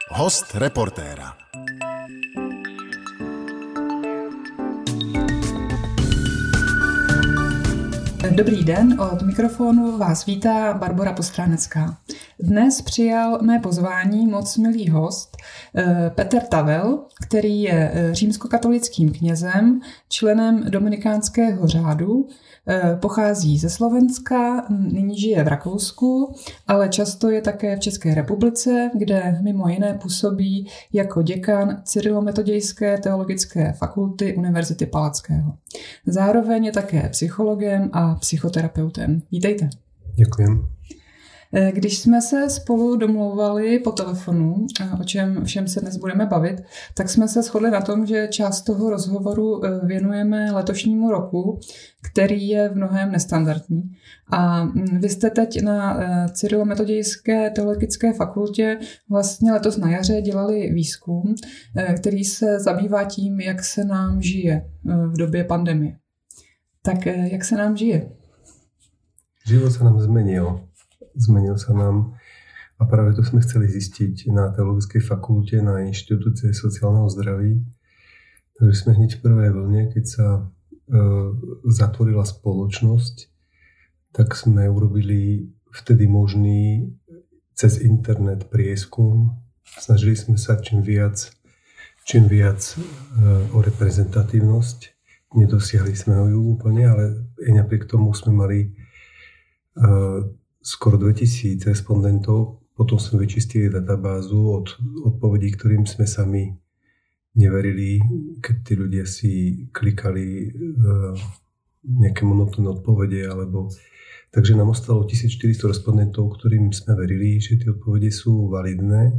Host reportéra. Dobrý den, od mikrofonu vás vítá Barbora Postránecká. Dnes přijal mé pozvání moc milý host Petr Tavel, který je římskokatolickým knězem, členem dominikánského řádu, pochází ze Slovenska, nyní žije v Rakousku, ale často je také v České republice, kde mimo jiné působí jako děkan Cyrilometodějské teologické fakulty Univerzity Palackého. Zároveň je také psychologem a psychoterapeutem. Vítejte. Děkujem. Když jsme se spolu domlouvali po telefonu, o čem všem se dnes budeme bavit, tak jsme se shodli na tom, že část toho rozhovoru věnujeme letošnímu roku, který je v mnohém nestandardní. A vy jste teď na Cyrilometodějské teologické fakultě vlastně letos na jaře dělali výzkum, který se zabývá tím, jak se nám žije v době pandemie. Tak jak se nám žije? Život sa nám zmenil. Zmenil sa nám a práve to sme chceli zistiť na Teologickej fakulte na Inštitúte sociálneho zdraví. Takže sme hneď v prvej vlne, keď sa zatvorila spoločnosť, tak sme urobili vtedy možný cez internet prieskum. Snažili sme sa čím viac o reprezentatívnosť. Nedosiahli sme ho úplne, ale aj napriek tomu sme mali skoro 2000 respondentov. Potom sme vyčistili databázu od odpovedí, ktorým sme sami neverili, keď tí ľudia si klikali nejaké monotónne odpovede. Takže nám ostalo 1400 respondentov, ktorým sme verili, že tie odpovede sú validné.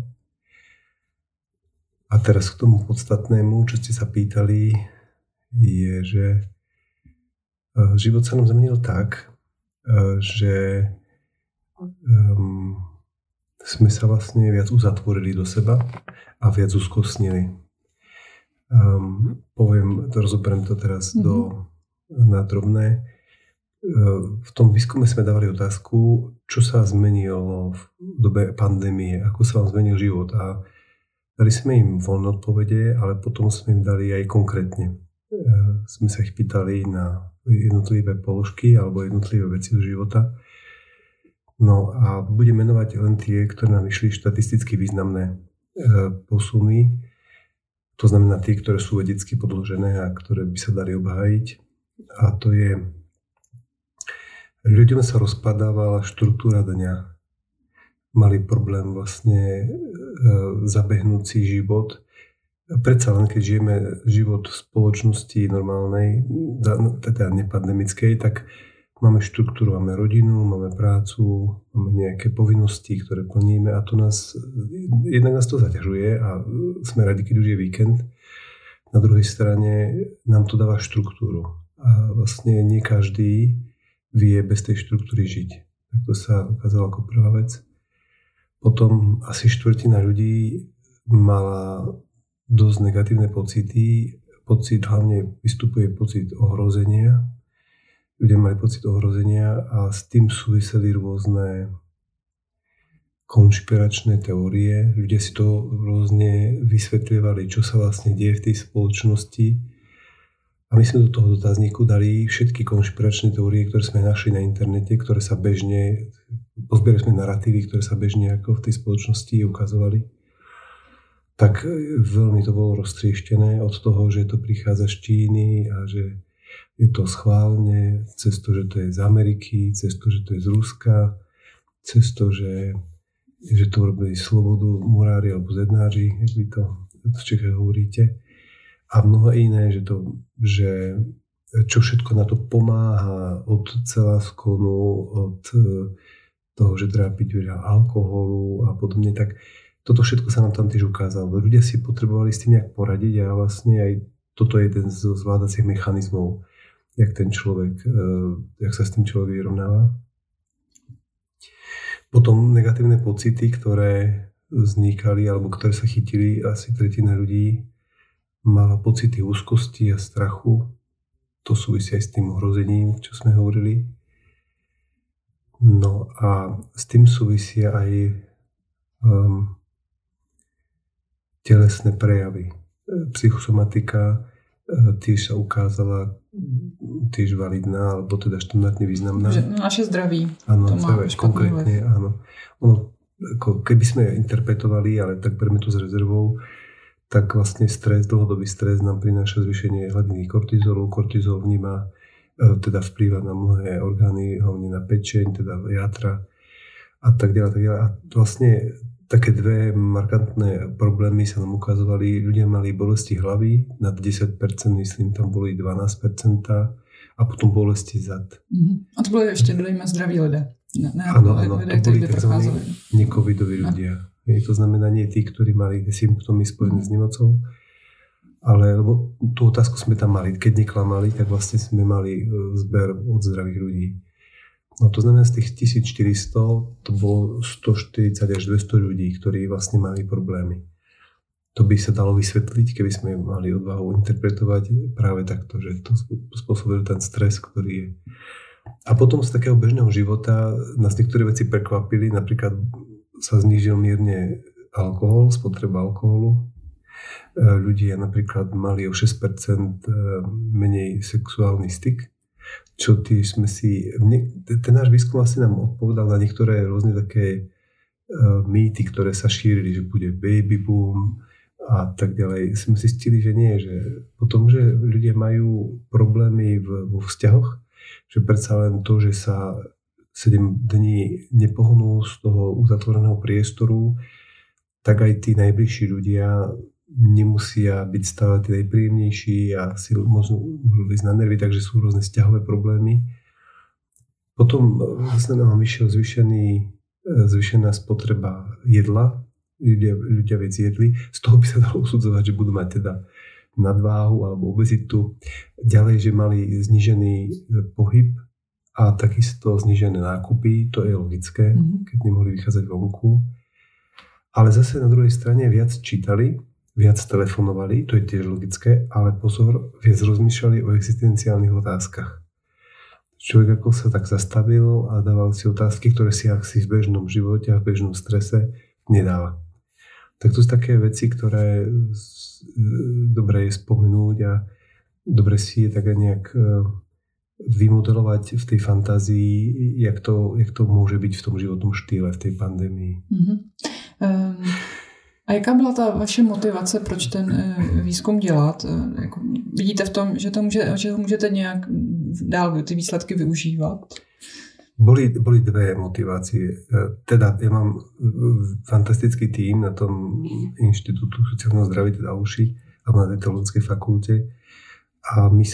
A teraz k tomu podstatnému, čo ste sa pýtali, je, že život sa nám zmenil tak, že sme sa vlastne viac uzatvorili do seba a viac uskosnili. Rozoberiem to teraz na drobné. V tom výskume sme dávali otázku, čo sa zmenilo v dobe pandémie, ako sa vám zmenil život. A dali sme im voľné odpovede, ale potom sme im dali aj konkrétne. Sme sa ich pýtali na jednotlivé položky alebo jednotlivé veci do života. No a budem menovať len tie, ktoré nám vyšli štatisticky významné posuny. To znamená tie, ktoré sú vedecky podložené a ktoré by sa dali obhájiť. A to je, ľuďom sa rozpadávala štruktúra dňa. Mali problém vlastne zabehnúť si život. Predsa len keď žijeme život v spoločnosti normálnej, teda nepandemickej, tak máme štruktúru, máme rodinu, máme prácu, máme nejaké povinnosti, ktoré plníme a jednak nás to zaťažuje a sme radi, keď už je víkend. Na druhej strane nám to dáva štruktúru a vlastne nie každý vie bez tej štruktúry žiť. Tak to sa ukázalo ako prvá vec. Potom asi štvrtina ľudí mala dosť negatívne pocity. Hlavne vystupuje pocit ohrozenia. Ľudia mali pocit ohrozenia a s tým súviseli rôzne konšpiračné teórie. Ľudia si to rôzne vysvetľovali, čo sa vlastne deje v tej spoločnosti. A my sme do toho dotazníku dali všetky konšpiračné teórie, ktoré sme našli na internete, ktoré sa pozbierali sme naratívy, ktoré sa bežne ako v tej spoločnosti ukazovali. Tak veľmi to bolo roztrieštené od toho, že to prichádza z Číny a že je to schválne, cez to, že to je z Ameriky, cez to, že to je z Ruska, cez to, že to robili slobodu murári alebo zednáři, jak vy to v Čechách hovoríte. A mnoho iné, že čo všetko na to pomáha, od celáskonu, od toho, že treba piť veľa alkoholu a podobne, tak toto všetko sa nám tam tiež ukázalo. Ľudia si potrebovali s tým nejak poradiť a vlastne aj toto je jeden z zvládacích mechanizmov, jak sa s tým človek vyrovnáva. Potom negatívne pocity, ktoré vznikali alebo ktoré sa chytili, asi tretina ľudí mala pocity úzkosti a strachu. To súvisí aj s tým ohrozením, čo sme hovorili. No a s tým súvisia aj telesné prejavy. Psychosomatika tiež sa ukázala tiež validná, alebo teda štandardne významná. Že naše zdraví. Áno, konkrétne, áno. Ono, ako keby sme interpretovali, ale tak berme to s rezervou, tak vlastne stres, dlhodobý stres nám prináša zvýšenie hladiny kortizolu. Kortizol vníma, teda vplýva na mnohé orgány, hlavne na pečeň, teda játra a tak ďalej. A vlastne také dve markantné problémy sa nám ukazovali. Ľudia mali bolesti hlavy, nad 10%, myslím, tam boli 12%, a potom bolesti zad. A to byli ještě zdraví lidé. Áno, to boli tzv. Necovidoví ľudia. To znamená nie tí, ktorí mali symptómy spojené s nemocou, ale lebo tú otázku sme tam mali. Keď neklamali, tak vlastne sme mali zber od zdravých ľudí. No to znamená, z tých 1400 to bolo 140 až 200 ľudí, ktorí vlastne mali problémy. To by sa dalo vysvetliť, keby sme mali odvahu interpretovať práve takto, že to spôsobil ten stres, ktorý je. A potom z takého bežného života nás niektoré veci prekvapili, napríklad sa znížil mierne alkohol, spotreba alkoholu. Ľudia napríklad mali o 6% menej sexuálny styk, čo tiež sme si... Ten náš výskum asi nám odpovedal na niektoré rôzne také mýty, ktoré sa šírili, že bude baby boom a tak ďalej. Sme si zistili, že nie, že potom, že ľudia majú problémy vo vzťahoch, že predsa len to, že sa 7 dní nepohnú z toho uzatvoreného priestoru, tak aj tí najbližší ľudia nemusia byť stále tí najpríjemnejší a si môžu ísť na nervy, takže sú rôzne vzťahové problémy. Potom vlastne nám vyšiel zvýšená spotreba jedla, ľudia viac jedli, z toho by sa dalo usudzovať, že budú mať teda nadváhu alebo obezitu. Ďalej, že mali znížený pohyb a takisto znížené nákupy, to je logické, keď nemohli vychádzať vonku. Ale zase na druhej strane viac čítali, viac telefonovali, to je tiež logické, ale pozor, viac rozmýšľali o existenciálnych otázkach. Človek ako sa tak zastavil a dával si otázky, ktoré si asi v bežnom živote a v bežnom strese nedáva. Tak to sú také veci, ktoré dobre je spomenúť a dobre si je tak aj nejak vymodelovať v tej fantázii, jak to môže byť v tom životnom štýle, v tej pandémii. A jaká byla ta vaše motivace, proč ten výzkum dělat? Jako, vidíte v tom, že to můžete nějak dál ty výsledky využívat? Boli dve motivácie. Teda ja mám fantastický tím na tom Inštitútu sociálneho zdravia, teda UŠI, alebo na tej teologickej fakulte. A my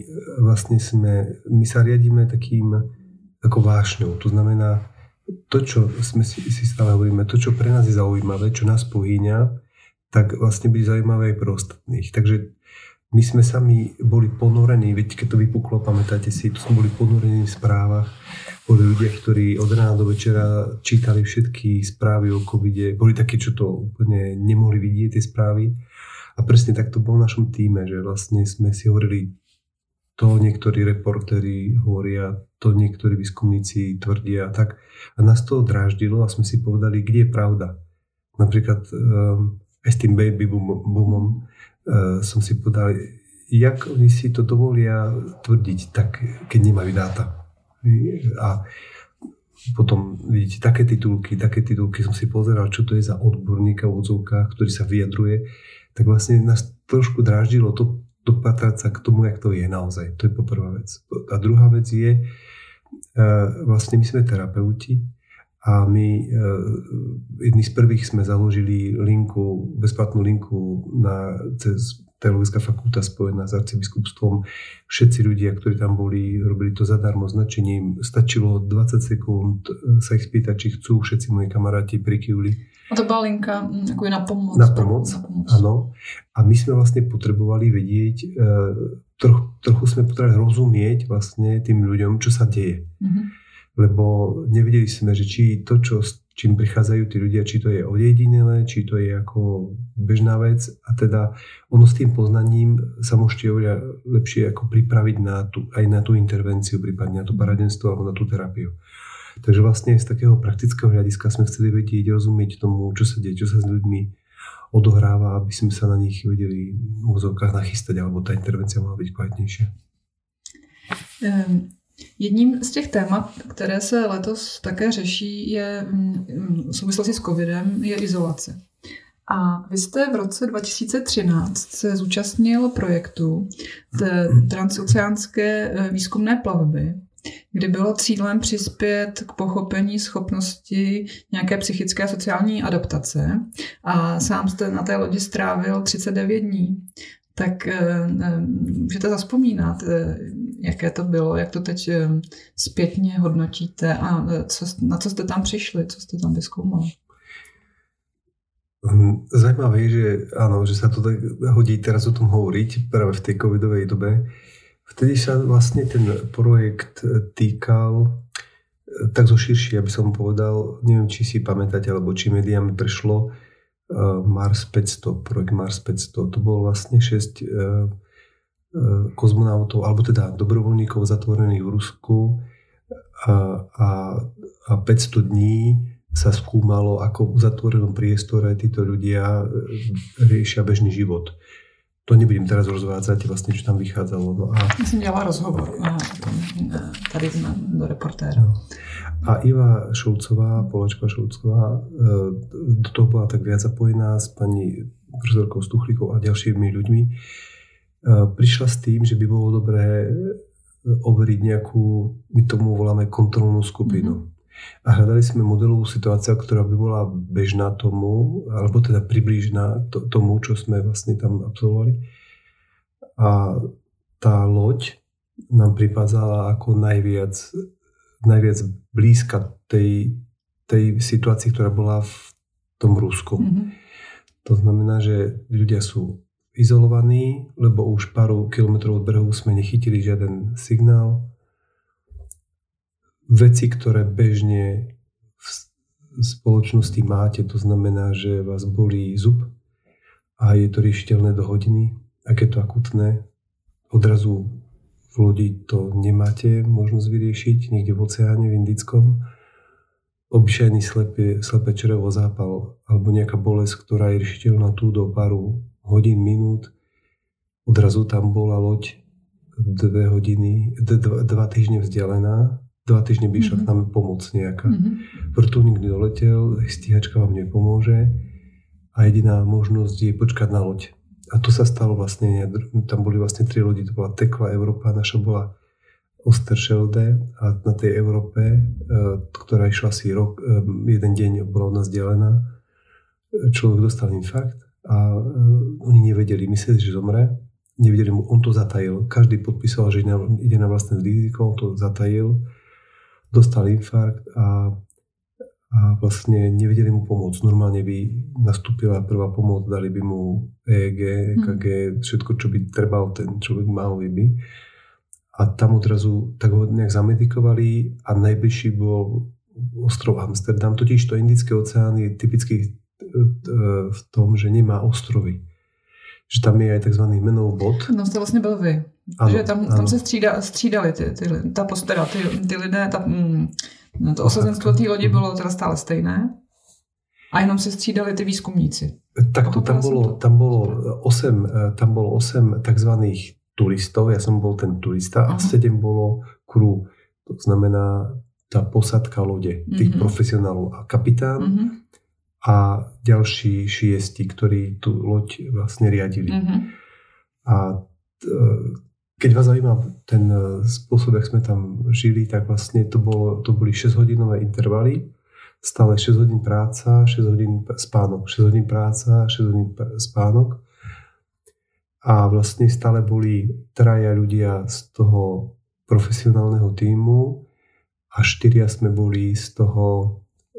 sa riadíme takým ako vášňou. To znamená, to, čo sme si stále hovoríme, to, čo pre nás je zaujímavé, čo nás pohýňa, tak vlastne byť zaujímavé aj pre ostatných. Takže my sme sami boli ponorení, veď keď to vypuklo, pamätáte si, to sme boli ponorení v správach. Boli ľudia, ktorí od rána do večera čítali všetky správy o covide. Boli takí, čo to úplne nemohli vidieť, tie správy. A presne tak to bolo v našom tíme, že vlastne sme si hovorili, to niektorí reportéri hovoria, to niektorí výskumníci tvrdia tak. A nás to dráždilo a sme si povedali, kde je pravda. Napríklad aj s tým baby boomom som si povedal, jak oni si to dovolia tvrdiť, tak keď nemajú dáta. A potom vidíte také titulky som si pozeral, čo to je za odborníka v odzovkách, ktorý sa vyjadruje, tak vlastne nás trošku dráždilo to dopatrať sa k tomu, jak to je naozaj. To je poprvá vec. A druhá vec je, vlastne my sme terapeuti a my jedni z prvých sme založili bezplatnú linku cez Teologická fakulta spojená s arcibiskupstvom. Všetci ľudia, ktorí tam boli, robili to zadarmo značením. Stačilo 20 sekúnd sa ich spýtať, či chcú. Všetci moji kamaráti prikyvli. A to bola linka ako je na pomoc. Na pomoc, áno. A my sme vlastne potrebovali vedieť, trochu sme potrebovali rozumieť vlastne tým ľuďom, čo sa deje. Lebo nevedeli sme, že či to, čím prichádzajú tí ľudia, či to je ojedinelé, či to je ako bežná vec. A teda ono s tým poznaním sa môžete oveľa lepšie ako pripraviť aj na tú intervenciu, prípadne na to poradenstvo alebo na tú terapiu. Takže vlastne z takého praktického hľadiska sme chceli vedieť, rozumieť tomu, čo sa deje, čo sa s ľuďmi odohráva, aby sme sa na nich vedeli v úvodzovkách nachystať, alebo tá intervencia mohla byť kvalitnější. Jedním z těch témat, které se letos také řeší, je v souvislosti s covidem, je izolace. A vy jste v roce 2013 se zúčastnil projektu transoceánské výzkumné plavby, kdy bylo cílem přispět k pochopení schopnosti nějaké psychické a sociální adaptace. A sám jste na té lodi strávil 39 dní. Tak můžete zavzpomínat, jaké to bylo, jak to teď zpětně hodnotíte a na co jste tam přišli, co jste tam vyzkoumali? Zajímavé je, že áno, že sa to tak hodí teraz o tom hovoriť práve v tej covidovej dobe. Vtedy sa vlastne ten projekt týkal tak zo širšie, aby som povedal, neviem, či si pamätáte, alebo či médiami prešlo Mars 500, projekt Mars 500. To bolo vlastne 6 kozmonautov, alebo teda dobrovoľníkov zatvorených v Rusku a 500 dní sa skúmalo, ako v zatvorenom priestore títo ľudia riešia bežný život. To nebudem teraz rozvádzať, vlastne, čo tam vychádzalo. No a... Ja som dělala rozhovor tady do reportéra. No. A Iva Šulcová, Polačka Šulcová, do toho bola tak viac zapojená s pani profesorkou Stuchlíkou a ďalšími ľuďmi. Prišla s tým, že by bolo dobré overiť nejakú, my tomu voláme kontrolnú skupinu. Mm-hmm. A hľadali sme modelovú situáciu, ktorá by bola bežná tomu, alebo teda priblížená tomu, čo sme vlastne tam absolvovali. A tá loď nám pripádzala ako najviac blízka tej situácii, ktorá bola v tom Rusku. Mm-hmm. To znamená, že ľudia sú izolovaní, lebo už pár kilometrov od brehu sme nechytili žiaden signál. Veci, ktoré bežne v spoločnosti máte, to znamená, že vás bolí zub a je to riešiteľné do hodiny. Ak je to akutné, odrazu v lodi to nemáte možnosť vyriešiť, niekde v oceáne, v Indickom. Obyčajný slepé črevo zápal alebo nejaká bolesť, ktorá je riešiteľná tu do pár hodín, minút. Odrazu tam bola loď 2 týždne vzdialená. 2 týždne by išla k nám pomoc nejaká. Vrtuľník doletel, stíhačka vám nepomôže a jediná možnosť je počkať na loď. A to sa stalo vlastne, tam boli vlastne 3 lodi, to bola Tekla Európa, naša bola Osterschelde a na tej Európe, ktorá išla asi rok, jeden deň bola od nás delená, človek dostal infarkt a oni nevedeli, mysleli, že zomre, nevedeli mu, on to zatajil, každý podpísal, že ide na vlastné riziko, on to zatajil, dostal infarkt a vlastne nevedeli mu pomôcť. Normálne by nastúpila prvá pomoc, dali by mu EEG, EKG, všetko, čo by trebal ten človek mal by. A tam odrazu tak ho nejak zamedikovali a najbližší bol ostrov Amsterdam. Totiž to Indický oceán je typický v tom, že nemá ostrovy. Že tam je aj tzv. Menov bod. No to vlastně byl vy. Ano, že tam se střídali ty lidé, to osazenstvo té lodi bylo teda stále stejné a jenom se střídali ty výzkumníci. Tak to tam bolo 8 takzvaných turistov, ja som bol ten turista a 7 bolo crew. To znamená tá posadka lode, tých profesionálov a kapitán a ďalší 6, ktorí tú loď vlastne riadili. A keď vás zaujíma ten spôsob, jak sme tam žili, tak vlastne to boli 6-hodinové intervaly, stále 6 hodín práca, 6 hodín spánok, 6 hodín práca, 6 hodín spánok. A vlastne stále boli 3 ľudia z toho profesionálneho tímu a 4 sme boli z toho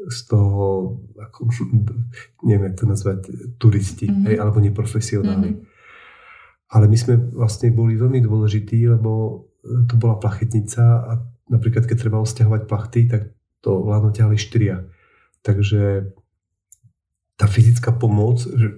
ako, neviem, jak to nazvať, turisti, alebo neprofesionáli. Ale my sme vlastne boli veľmi dôležití, lebo to bola plachetnica a napríklad keď treba sťahovať plachty, tak to vláno ťahali 4. Takže tá fyzická pomoc,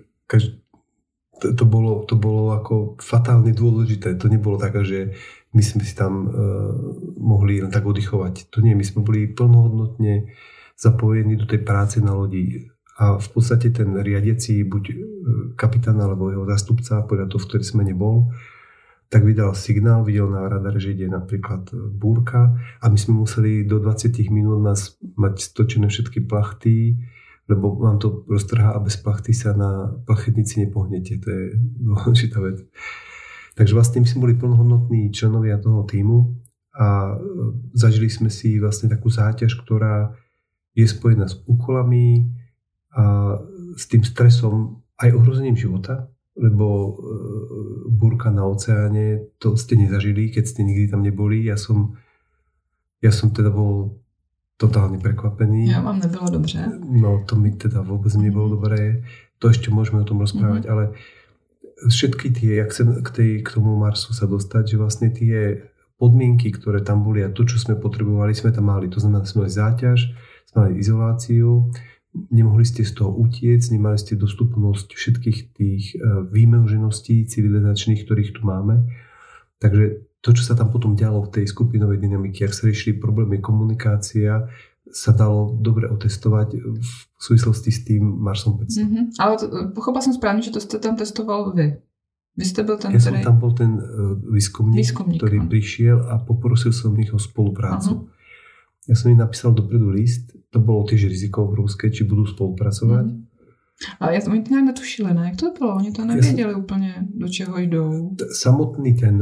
to bolo ako fatálne dôležité. To nebolo také, že my sme si tam mohli len tak oddychovať. To nie, my sme boli plnohodnotne zapojení do tej práce na lodi. A v podstate ten riadiaci, buď kapitán alebo jeho zástupca, podľa toho, v ktorý sme nebol, tak vydal signál, videl na radar, že ide napríklad búrka a my sme museli do 20 minút mať stočené všetky plachty, lebo vám to roztrhá a bez plachty sa na plachetnici nepohnete. To je dôležitá vec. Takže vlastne my sme boli plnohodnotní členovia toho tímu a zažili sme si vlastne takú záťaž, ktorá je spojená s úkolami a s tým stresom aj ohrozením života, lebo búrka na oceáne, to ste nezažili, keď ste nikdy tam neboli. Ja som teda bol totálne prekvapený. Ja vám nebylo dobře. No, to mi teda vôbec nebolo dobré. To ešte môžeme o tom rozprávať, ale všetky tie, jak chcem k tomu Marsu sa dostať, že vlastne tie podmienky, ktoré tam boli a to, čo sme potrebovali, sme tam mali. To znamená, sme mali záťaž, sme mali izoláciu, nemohli ste z toho utiec, nemali ste dostupnosť všetkých tých výmožeností civilizačných, ktorých tu máme. Takže to, čo sa tam potom dialo v tej skupinovej dynamike, ak sa riešili problémy komunikácia, sa dalo dobre otestovať v súvislosti s tým Marsom 500. Ale pochopila som správne, že to ste tam testoval vy. Vy ste byl ten, som tam bol ten výskumník, ktorý prišiel a poprosil som ich o spoluprácu. Ja som im napísal dopredu list, to bolo tiež riziko obrovské, či budú spolupracovať. Ale oni to nějak netušili, ne? Jak to bylo? Oni to nevěděli úplně, do čeho jdou. Samotný ten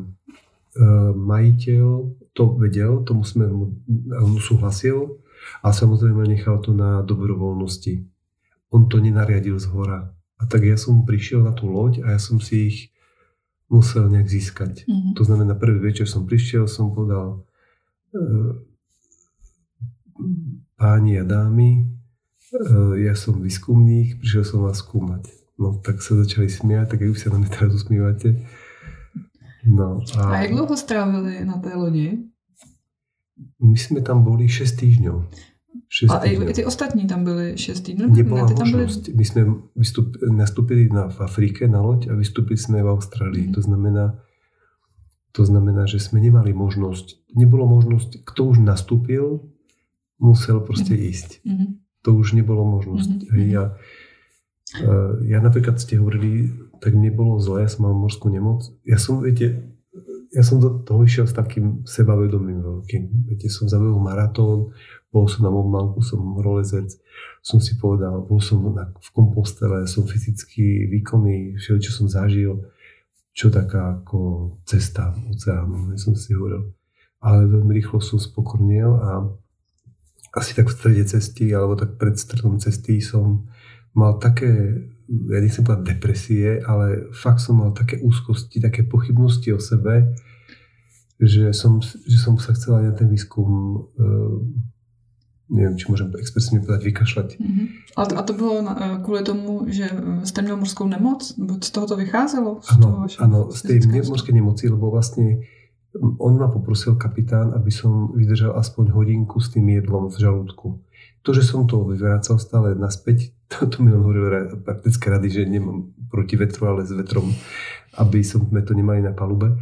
majiteľ to vedel, on súhlasil a samozrejme nechal to na dobrovoľnosti. On to nenariadil zhora. A tak ja som prišiel na tú loď a ja som si ich musel nejak získať. To znamená, prvý večer som prišiel, som povedal páni a dámy, ja som výskumník, prišiel som vás skúmať. No tak sa začali smiať, tak aj už sa na mňa teraz usmívate. No, a jak dlouho strávili na té lodi? My sme tam boli 6 týždňov. A i ty ostatní tam byli 6 týdnů? Nebola možnosť. My sme nastúpili v Afrike na loď a vystúpili sme v Austrálii. To znamená, že sme nemali možnosť. Nebolo možnosť, kto už nastúpil, musel proste ísť. To už nebolo možnosť. Ja napríklad ste hovorili, tak mne bolo zle, ja som mal morskú nemoc. Ja som do toho išiel s takým sebavedomím veľkým. Viete, som zabehol maratón, bol som na Mont Blancu, som horolezec, som si povedal, bol som v Kompostele, som fyzicky výkonný, čo som zažil, čo taká ako cesta oceánu, som si hovoril. Ale veľmi rýchlo som spokornil a asi tak v strede cesty, alebo tak pred stredom cesty som mal také, ja nechcem povedať depresie, ale fakt som mal také úzkosti, také pochybnosti o sebe, že som sa chcel aj na ten výskum, neviem, či môžem expresívne povedať, vykašľať. A to bylo kvůli tomu, že jste měl morskou nemoc? Z toho to vycházelo? Áno, z tej morskej nemoci, lebo vlastne on ma poprosil kapitán, aby som vydržal aspoň hodinku s tým jedlom v žalúdku. To, že som to vyvracal stále naspäť, to mi on hovoril praktické rady, že nemám proti vetru, ale s vetrom, aby sme to nemali na palube.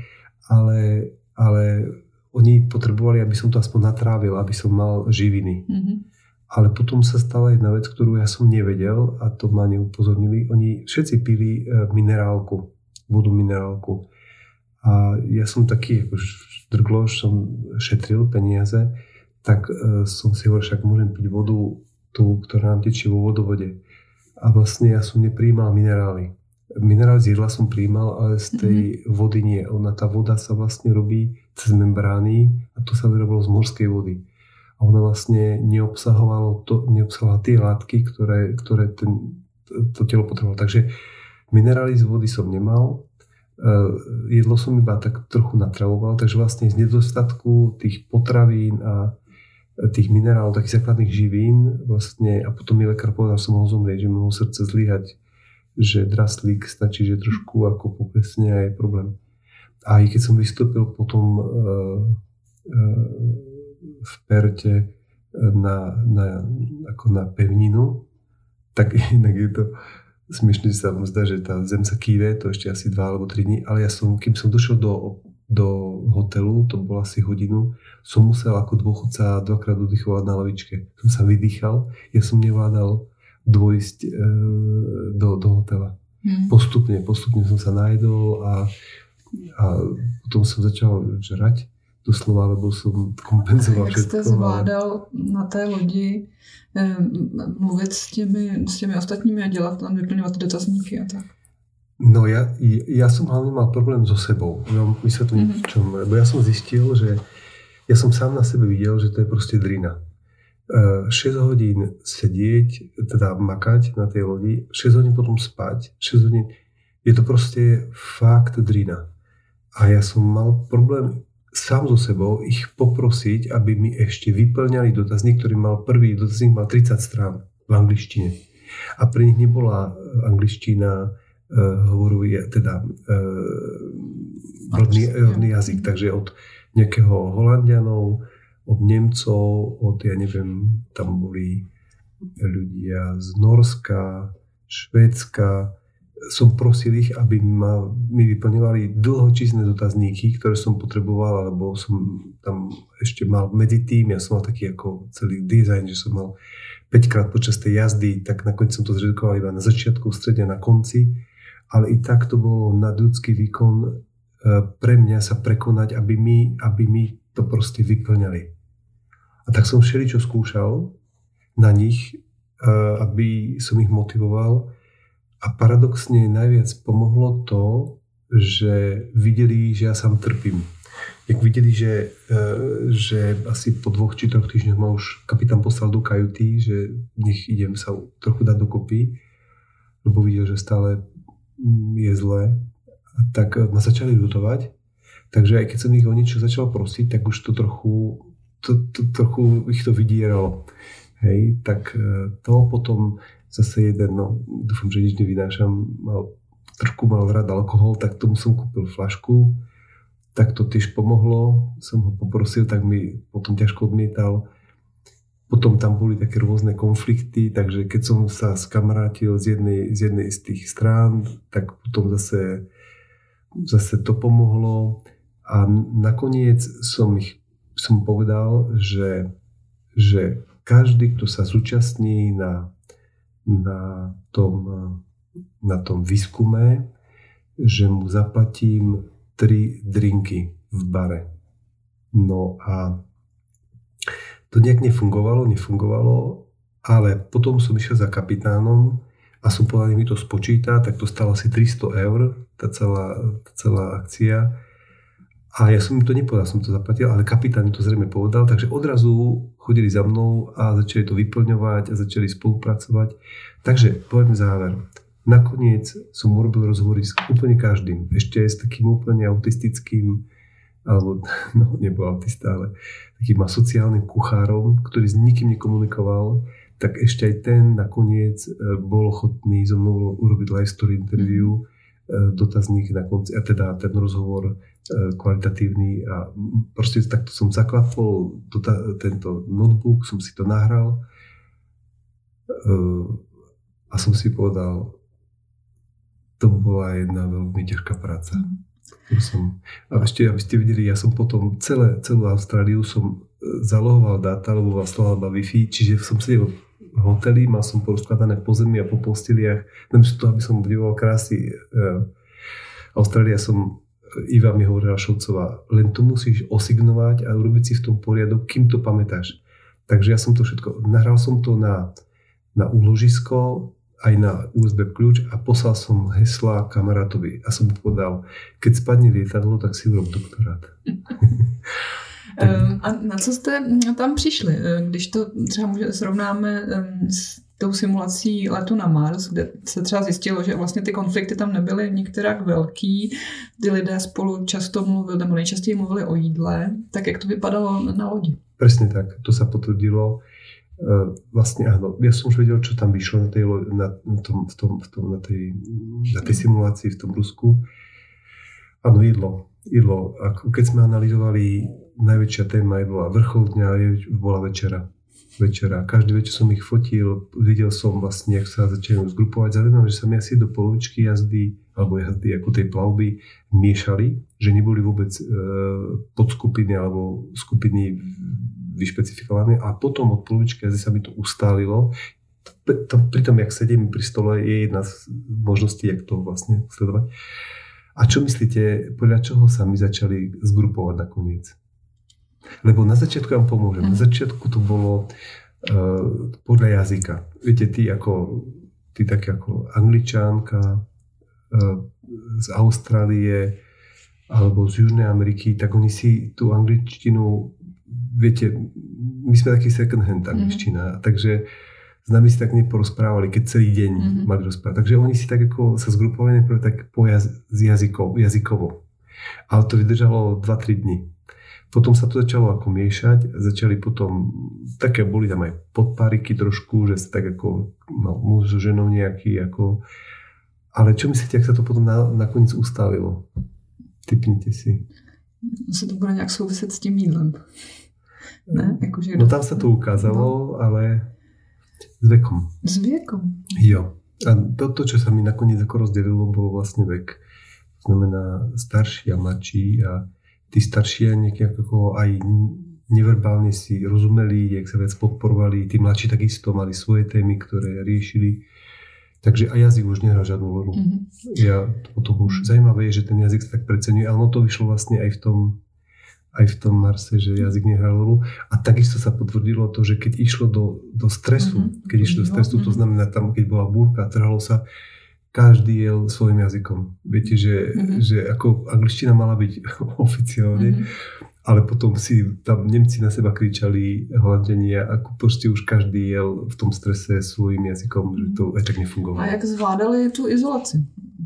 Ale oni potrebovali, aby som to aspoň natrávil, aby som mal živiny. Ale potom sa stala jedna vec, ktorú ja som nevedel a to ma neupozornili. Oni všetci pili minerálku, vodu minerálku. A ja som taký, ako drgloš, som šetril peniaze, tak som si hovoril, však môžem piť vodu tú, ktorá nám tečie vo vodovode. A vlastne ja som neprijímal minerály. Minerály z jedla som prijímal, ale z tej vody nie. Tá voda sa vlastne robí cez membrány a to sa vyrobilo z morskej vody. A ona vlastne neobsahovala tie látky, ktoré to telo potrebovalo. Takže minerály z vody som nemal. Jedlo som iba tak trochu natravoval, takže vlastne z nedostatku tých potravín a tých minerálov, takých základných živín vlastne, a potom mi lekár povedal, že som mohol zomrieť, že mi mohol srdce zlyhať, že draslík stačí, že trošku ako poklesne a je problém. A i keď som vystúpil potom v Perte na pevninu, tak inak je to smiešne, že sa vám zdá, že tá zem sa kýve, to ešte asi 2 alebo 3 dní, ale kým som došiel do hotelu, to bolo asi hodinu, som musel ako dôchodca 2-krát oddychovať na lavičke. Som sa vydýchal, ja som nevládal dôjsť do hotela. Postupne som sa najedol a potom som začal žrať doslova, lebo som kompenzoval Jak všetko. Jak jste zvládal na té lodi mluvit s těmi ostatními a dělat tam, vyplňovat dotazníky a tak? No ja som hlavne mal problém so sebou. No, vysvetlím v čom. Lebo ja som zistil, že ja som sám na sebe videl, že to je proste drina. 6 hodín sedieť, teda makať na tej lodi, 6 hodín potom spať, 6 hodín, je to proste fakt drina. A ja som mal problém sám so sebou ich poprosiť, aby mi ešte vyplňali dotazník, ktorý mal prvý dotazník mal 30 strán v angličtine. A pre nich nebola angličtina rodný jazyk. Takže od nejakého Holandianov, od Nemcov, ja neviem, tam boli ľudia z Norska, Švédska. Som prosil ich, aby mi vyplňovali dlhočísne dotazníky, ktoré som potreboval, alebo som tam ešte mal medzi tým, ja som mal taký ako celý dizajn, že som mal 5-krát počas tej jazdy, tak nakoniec som to zredukoval iba na začiatku, v strede, na konci, ale i tak to bolo nadľudský výkon pre mňa sa prekonať, aby mi to proste vyplňali. A tak som všeličo skúšal na nich, aby som ich motivoval. A paradoxne najviac pomohlo to, že videli, že ja sám trpím. Jak videli, že asi po 2 či 3 týždňoch ma už kapitán poslal do kajuty, že nech idem sa trochu dať dokopy, lebo videl, že stále je zle, tak ma začali ľutovať. Takže aj keď som ich o niečo začal prosiť, tak už to trochu ich to vydieralo. Hej, tak to potom zase jeden, dúfam, že nič nevynášam, trošku mal rád alkohol, tak tomu som kúpil fľašku, tak to tiež pomohlo, som ho poprosil, tak mi potom ťažko odmietal. Potom tam boli také rôzne konflikty, takže keď som sa skamarátil z jednej z tých strán, tak potom zase to pomohlo a nakoniec som povedal, že každý, kto sa zúčastní na tom výskume, že mu zaplatím 3 drinky v bare. No a to nejak nefungovalo, ale potom som išiel za kapitánom a som povedal, nech mi to spočíta, tak to stalo asi 300 €, tá celá akcia. A ja som im to nepovedal, som to zaplatil, ale kapitán mi to zrejme povedal, takže odrazu chodili za mnou a začali to vyplňovať a začali spolupracovať. Takže poviem záver. Nakoniec som urobil rozhovory s úplne každým. Ešte aj s takým úplne autistickým, alebo nebol autista, ale takým asociálnym kuchárom, ktorý s nikým nekomunikoval, tak ešte aj ten nakoniec bol ochotný so mnou urobiť live story interview, dotazník na konci, a teda ten rozhovor kvalitatívny a proste takto som zaklapol tento notebook, som si to nahral a som si povedal, to bola jedna veľmi ťažká práca. A ešte, aby ste videli, ja som potom celú Austráliu som zalohoval dáta, lebo slala Wi-Fi, čiže som sedel v hoteli, mal som porozkladané po zemi a po posteliach, namiesto toho, aby som obdivoval krásy Austrália, Iva mi hovorila Šolcová, len to musíš osignovať a urobiť si v tom poriadok, kým to pamätáš. Takže ja som to všetko, nahral som to na úložisko, aj na USB kľúč a poslal som hesla kamarátovi a som mu povedal, keď spadne lietadlo, tak si urob doktorát. A na co jste tam přišli? Když to třeba srovnáme s tou simulací letu na Mars, kde se třeba zjistilo, že vlastně ty konflikty tam nebyly nikterak velký, ty lidé spolu často mluvili, nebo nejčastěji mluvili o jídle, tak jak to vypadalo na lodi? Presne tak, to sa potvrdilo. Vlastne áno, ja som už vedel, čo tam vyšlo na tej simulácii v tom Rusku. Áno, jedlo. Keď sme analyzovali, najväčšia téma bola vrchol dňa, bola večera. Každý večer som ich fotil, videl som vlastne, jak sa začali zgrupovať. Zaujímavé, že sa mi asi do polovičky jazdy ako tej plavby miešali, že neboli vôbec podskupiny alebo skupiny vyšpecifikované a potom od polovičky jazdy sa mi to ustálilo. pri tom, jak sedím pri stole, je jedna z možností, jak to vlastne sledovať. A čo myslíte, podľa čoho sa my začali zgrupovať nakoniec? Lebo na začiatku vám pomôžem. Na začiatku to bolo podľa jazyka. Viete, ty také ako Angličánka z Austrálie alebo z Južnej Ameriky, tak oni si tú angličtinu, viete, my sme taký second hand angličtina, takže s nami si tak neporozprávali, keď celý deň mali rozprávať. Takže oni si tak ako sa zgrupovali najprv tak jazykovo. Ale to vydržalo 2-3 dni. Potom sa to začalo ako miešať, začali potom, také boli tam aj podpáriky trošku, že sa tak ako muž so ženou nejaký ako. Ale čo myslíte, ak sa to potom nakoniec ustavilo? Typnite si. Se to bude nějak souviset s tím jídlem. Ne? No tam sa to ukázalo, ale s vekom. S vekom? Jo. A to, čo sa mi nakoniec ako rozdelilo, bolo vlastne vek. To znamená starší a mladší a tí starší nejaké ako aj neverbálne si rozumeli, jak sa viac podporovali. Tí mladší takisto mali svoje témy, ktoré riešili. Takže aj jazyk už nehral žiadnu rolu. Ja potom už zaujímavé je, že ten jazyk sa tak preceňuje, ale ono to vyšlo vlastne aj v tom Marse, že jazyk nehral rolu. A takisto sa potvrdilo to, že keď išlo do stresu, to znamená tam, keď bola búrka, trhalo sa, každý jel svojím jazykom. Viete, že ako angličtina mala byť oficiálne, ale potom si tam Nemci na seba kričali, Holanďania, ako proste už každý jel v tom strese svojím jazykom, že to aj tak nefungovalo. A jak zvládali tú izolaci?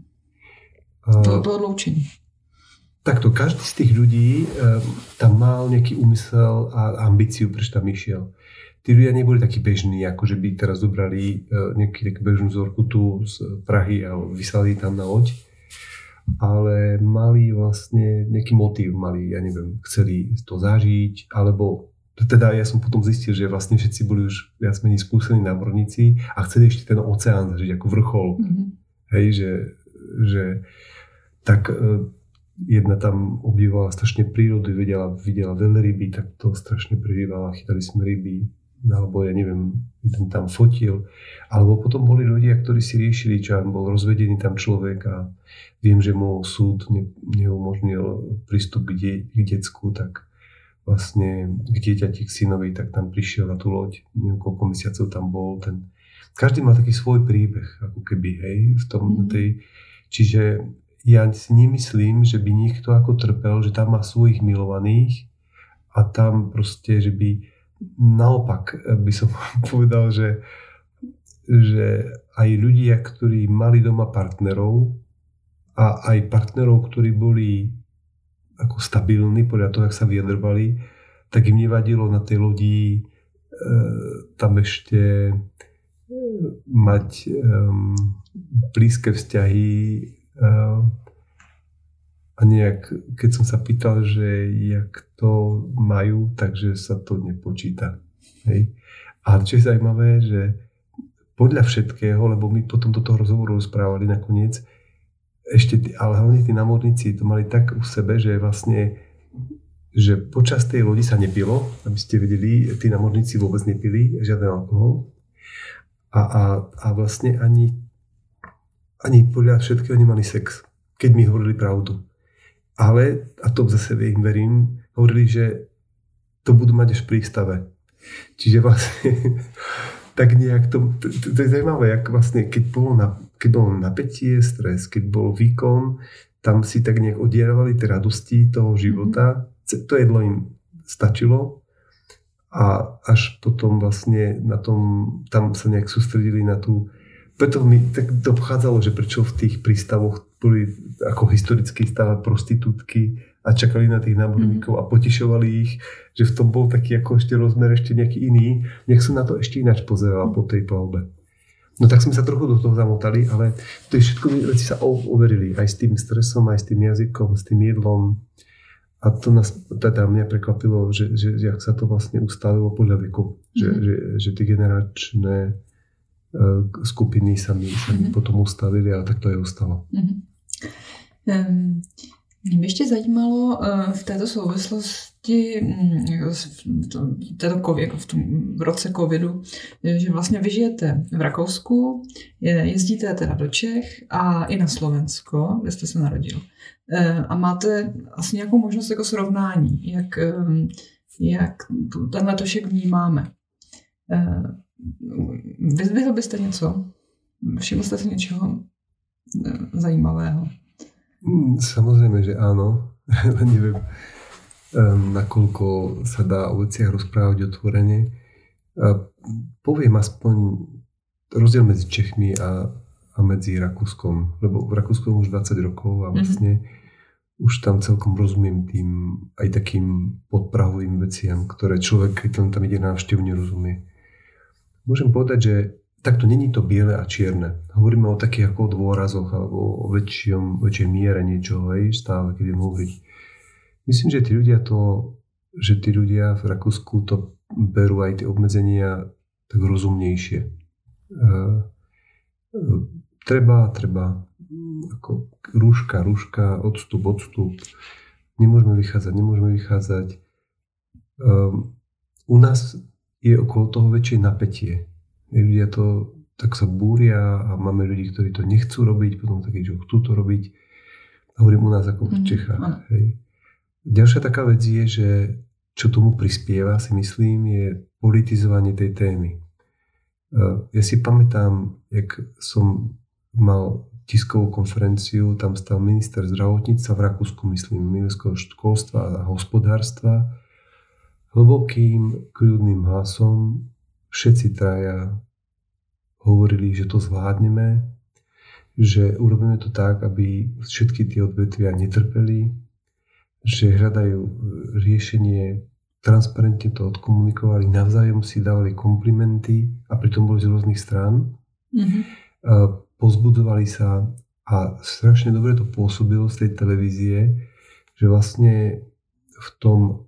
To odloučení? Takto, každý z tých ľudí tam mal nejaký úmysel a ambíciu, prečo tam išiel. Tí ľudia neboli takí bežní, ako že by teraz dobrali nejakú bežnú vzorku tu z Prahy a vyslali tam na loď. Ale mali vlastne nejaký motív, ja neviem, chceli to zažiť, alebo teda ja som potom zistil, že vlastne všetci boli už viac menej skúsení námorníci a chceli ešte ten oceán zažiť ako vrchol. Hej, že tak jedna tam obdivovala strašne prírodu, videla veľryby, tak to strašne prežívala, chytali sme ryby, alebo ja neviem, jeden tam fotil. Alebo potom boli ľudia, ktorí si riešili, čo bol rozvedený tam človek a viem, že mu súd neumožnil prístup k decku, tak vlastne k dieťati, k synovi, tak tam prišiel na tú loď, neviem, koľko mesiacov tam bol. Každý má taký svoj príbeh, ako keby, hej, v tom čiže ja si nemyslím, že by niekto ako trpel, že tam má svojich milovaných a tam proste, že by naopak by som povedal, že aj ľudia, ktorí mali doma partnerov a aj partnerov, ktorí boli ako stabilní podľa toho, jak sa vyjadrovali, tak im nevadilo na tej lodi tam ešte mať blízke vzťahy a nejak, keď som sa pýtal, že jak to majú, takže sa to nepočíta. Hej. A čo je zaujímavé, že podľa všetkého, lebo my potom do toho rozhovoru rozprávali nakoniec, ale hlavne tí námorníci to mali tak u sebe, že vlastne, že počas tej lodi sa nepilo, aby ste vedeli, tí námorníci vôbec nepili žiaden alkohol a vlastne ani podľa všetkého nemali sex, keď mi hovorili pravdu. Ale, a to zase im verím, hovorili, že to budú mať až v prístave. Čiže vlastne tak nejak to je zaujímavé, jak vlastne, keď bolo napätie, stres, keď bol výkon, tam si tak nejak odierovali tie radosti toho života. To jedlo im stačilo a až potom vlastne na tom, tam sa nejak sústredili na tú. Preto mi tak to pochádzalo, že prečo v tých prístavoch boli ako historicky stále prostitútky a čakali na tých námorníkov a potešovali ich, že v tom bol taký ako ešte rozmer ešte nejaký iný. Nech som na to ešte ináč pozeral po tej plavbe. No tak sme sa trochu do toho zamotali, ale to je všetko veci sa overili. Aj s tým stresom, aj s tým jazykom, s tým jedlom. A to nás, teda mňa prekvapilo, že jak sa to vlastne ustavilo podľa veku. Že tie generačné skupiny sa mi potom ustavili a tak to je ustalo. Mě by ještě zajímalo v této souvislosti zkušenosti v tom roce covidu, že vlastně vy žijete v Rakousku, jezdíte teda do Čech a i na Slovensko, kde jste se narodil. A máte asi nějakou možnost jako srovnání, jak ten letošek vnímáme. Vyzdvihl byste něco? Všiml jste si něčeho zajímavého? Samozrejme, že áno. Neviem, nakoľko sa dá o veciach rozprávať otvorene. Poviem aspoň rozdiel medzi Čechmi a medzi Rakúskom. Lebo v Rakúsku už 20 rokov a vlastne už tam celkom rozumiem tým aj takým podprahovým veciam, ktoré človek, keď tam ide na návštevu, nerozumie. Môžem povedať, že takto není to biele a čierne. Hovoríme o takých ako dôrazoch alebo o väčšej miere niečoho, hej, stále, keď idem hovoriť. Myslím, že tí ľudia v Rakúsku to berú aj tie obmedzenia tak rozumnejšie. Treba ako rúška, odstup. Nemôžeme vychádzať. U nás je okolo toho väčšie napätie. Ľudia to tak sa búria a máme ľudí, ktorí to nechcú robiť, potom takí, čo chcú to robiť. Hovorím u nás ako v Čechách. Hej. Ďalšia taká vec je, že čo tomu prispieva, si myslím, je politizovanie tej témy. Ja si pamätám, jak som mal tiskovú konferenciu, tam stal minister zdravotníctva v Rakúsku, myslím, ministerského školstva a hospodárstva. Hlbokým, kľudným hlasom všetci traja hovorili, že to zvládneme, že urobíme to tak, aby všetky tie odvetvia netrpeli, že hľadajú riešenie, transparentne to odkomunikovali, navzájom si dávali komplimenty a pritom boli z rôznych strán. Pozbudzovali sa a strašne dobre to pôsobilo z tej televízie, že vlastne v tom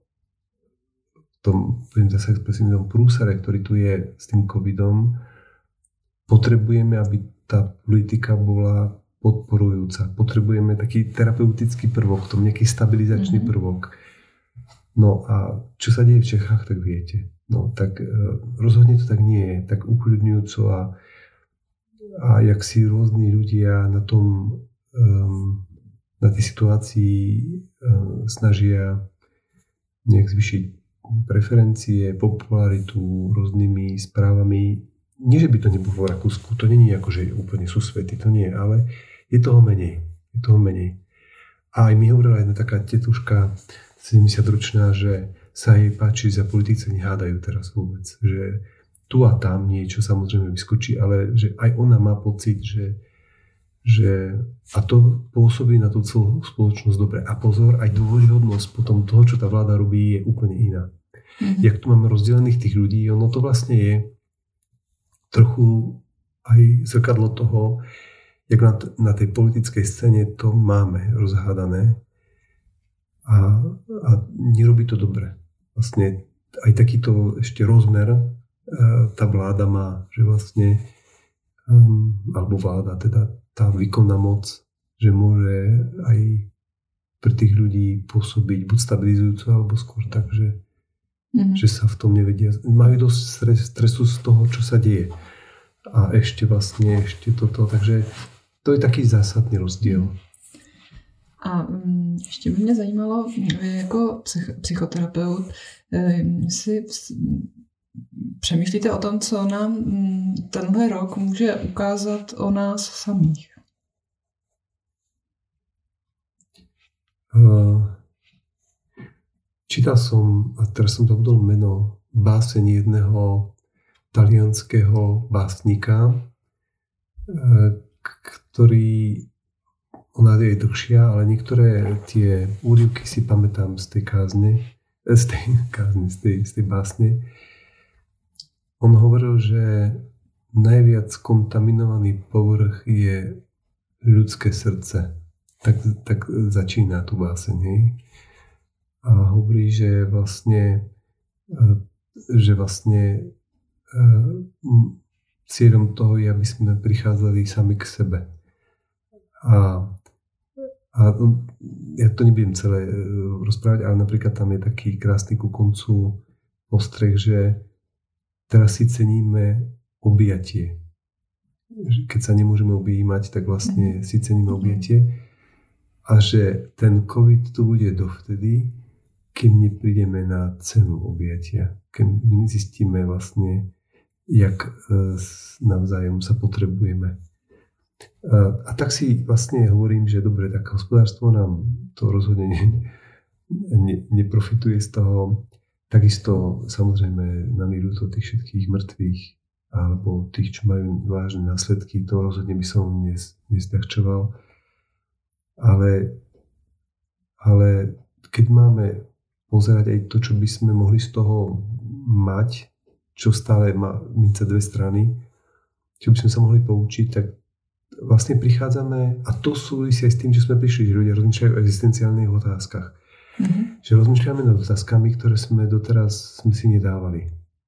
prúsere, ktorý tu je s tým covidom, potrebujeme, aby tá politika bola podporujúca. Potrebujeme taký terapeutický prvok, tom nejaký stabilizačný prvok. No a čo sa deje v Čechách, tak viete. No tak rozhodne to tak nie je, tak ukľudňujúco a jak si rôzni ľudia na tom, na tej situácii snažia nejak zvyšiť preferencie, popularitu rôznymi správami. Nie, že by to nebolo v Rakúsku, to nie je ako, že úplne sú svety, to nie, ale je toho menej. A aj mi hovorila jedna taká tetuška, 70-ročná, že sa jej páči, že za politici nehádajú teraz vôbec. Že tu a tam niečo samozrejme vyskočí, ale že aj ona má pocit, že a to pôsobí na tú celú spoločnosť dobre. A pozor, aj dôvodnosť potom toho, čo tá vláda robí, je úplne iná. Jak tu máme rozdelených tých ľudí, ono to vlastne je trochu aj zrkadlo toho, jak na tej politickej scéne to máme rozhádané a nerobí to dobre. Vlastne aj takýto ešte rozmer tá vláda má, že vlastne alebo vláda, teda tá výkonná moc, že môže aj pre tých ľudí pôsobiť buď stabilizujúco, alebo skôr tak, že sa v tom nevedia. Majú dosť stresu z toho, čo sa deje. A ešte toto. Takže to je taký zásadný rozdíl. A ještě by mě zajímalo, vy jako psychoterapeut, si přemýšlíte o tom, co nám tenhle rok může ukázat o nás samých? Čítal som, a teraz som zabudol meno, báseň jedného talianského básnika, ktorý, ona je dlhšia, ale niektoré tie úryvky si pamätám z tej básne. On hovoril, že najviac kontaminovaný povrch je ľudské srdce. Tak začína tú báseň. Hej? A hovorí, že vlastne cieľom toho je, aby sme prichádzali sami k sebe. A A ja to nebudem celé rozprávať, ale napríklad tam je taký krásny ku koncu postreh, že teraz si ceníme objatie. Keď sa nemôžeme objímať, tak vlastne si ceníme objatie. A že ten COVID tu bude dovtedy, kým neprídeme na cenu objatia. Keď nezistíme vlastne, jak navzájom sa potrebujeme. A tak si vlastne hovorím, že dobre, tak hospodárstvo nám to rozhodne neprofituje z toho. Takisto samozrejme nám je ľúto tých všetkých mŕtvych alebo tých, čo majú vážne následky, to rozhodne by som nesľahčoval. Ale keď máme pozerať aj to, čo by sme mohli z toho mať, čo stále má mince dve strany, čo by sme sa mohli poučiť, tak vlastne prichádzame, a to súvisí aj s tým, že sme prišli, že ľudia rozmýšľajú o existenciálnych otázkach. Že rozmýšľame nad otázkami, ktoré sme doteraz si nedávali.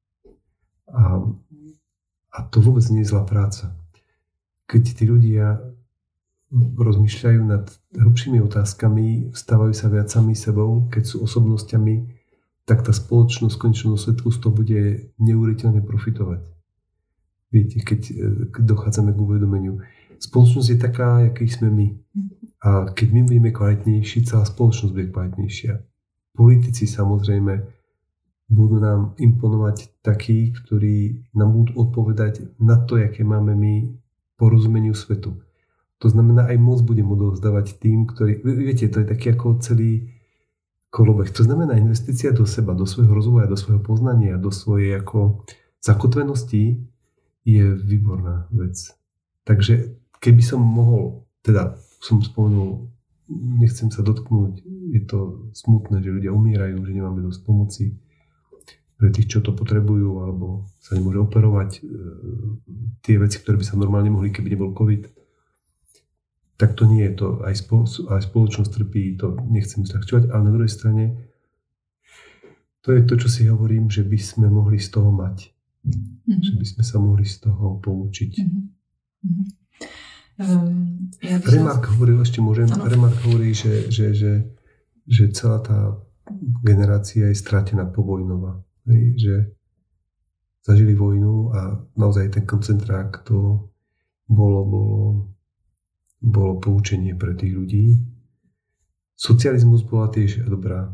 A to vôbec nie je zlá práca. Keď tí ľudia rozmýšľajú nad hlbšími otázkami, stávajú sa viac sami sebou, keď sú osobnosťami, tak tá spoločnosť v konečnom dôsledku z toho bude neuveriteľne profitovať. Viete, keď dochádzame k uvedomeniu. Spoločnosť je taká, aký sme my. A keď my budeme kvalitnejší, celá spoločnosť bude kvalitnejšia. Politici samozrejme budú nám imponovať takí, ktorí nám budú odpovedať na to, aké máme my porozumeniu svetu. To znamená, aj moc budem odovzdávať tým, ktorí... Viete, to je taký ako celý kolobeh. To znamená, investícia do seba, do svojho rozvoja, do svojho poznania, do svojej ako zakotvenosti je výborná vec. Takže keby som mohol, teda som spomenul, nechcem sa dotknúť, je to smutné, že ľudia umierajú, že nemáme dosť pomoci pre tých, čo to potrebujú, alebo sa nemôže operovať tie veci, ktoré by sa normálne mohli, keby nebol COVID. Tak to nie je to. Aj spoločnosť trpí, to nechcem zľahčovať, ale na druhej strane to je to, čo si hovorím, že by sme mohli z toho mať. Že by sme sa mohli z toho poučiť. Remarque hovoril, ešte môžem, Remarque hovorí, že celá tá generácia je strátená povojnová. Že zažili vojnu a naozaj ten koncentrák to bolo poučenie pre tých ľudí. Socializmus bola tiež dobrá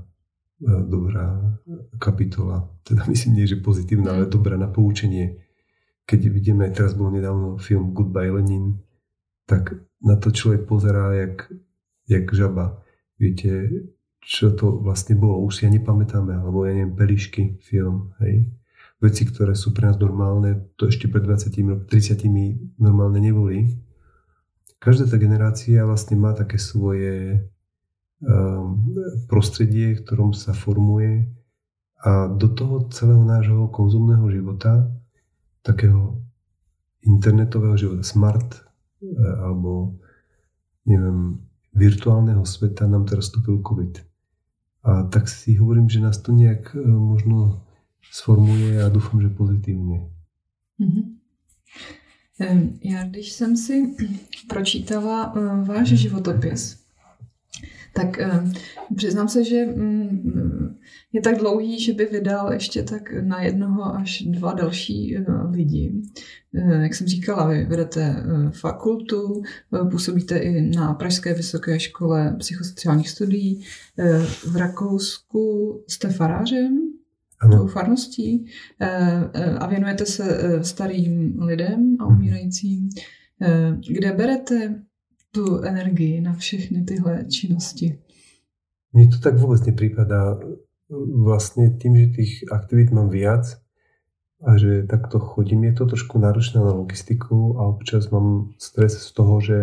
kapitola. Teda myslím, nie že pozitívna, ale dobrá na poučenie. Keď vidíme, teraz bol nedávno film Goodbye Lenin, tak na to človek pozerá jak žaba. Viete, čo to vlastne bolo? Už si ja nepamätáme, alebo ja neviem, Pelišky film, hej. Veci, ktoré sú pre nás normálne, to ešte pred 20 30 normálne neboli. Každá tá generácia vlastne má také svoje prostredie, v ktorom sa formuje a do toho celého nášho konzumného života, takého internetového života, smart alebo neviem, virtuálneho sveta nám teraz vstúpil COVID. A tak si hovorím, že nás to nejak možno sformuje a dúfam, že pozitívne. Já když jsem si pročítala váš životopis, tak přiznám se, že je tak dlouhý, že by vydal ještě tak na 1 až 2 další lidi. Jak jsem říkala, vy vedete fakultu, působíte i na Pražské vysoké škole psychosociálních studií. V Rakousku jste farářem, farností a věnujete se starým lidem a umírajícím. Kde berete tu energii na všechny tyhle činnosti? Mne to tak vôbec neprípadá. Vlastne tým, že tých aktivít mám viac a že takto chodím, je to trošku náročné na logistiku a občas mám stres z toho, že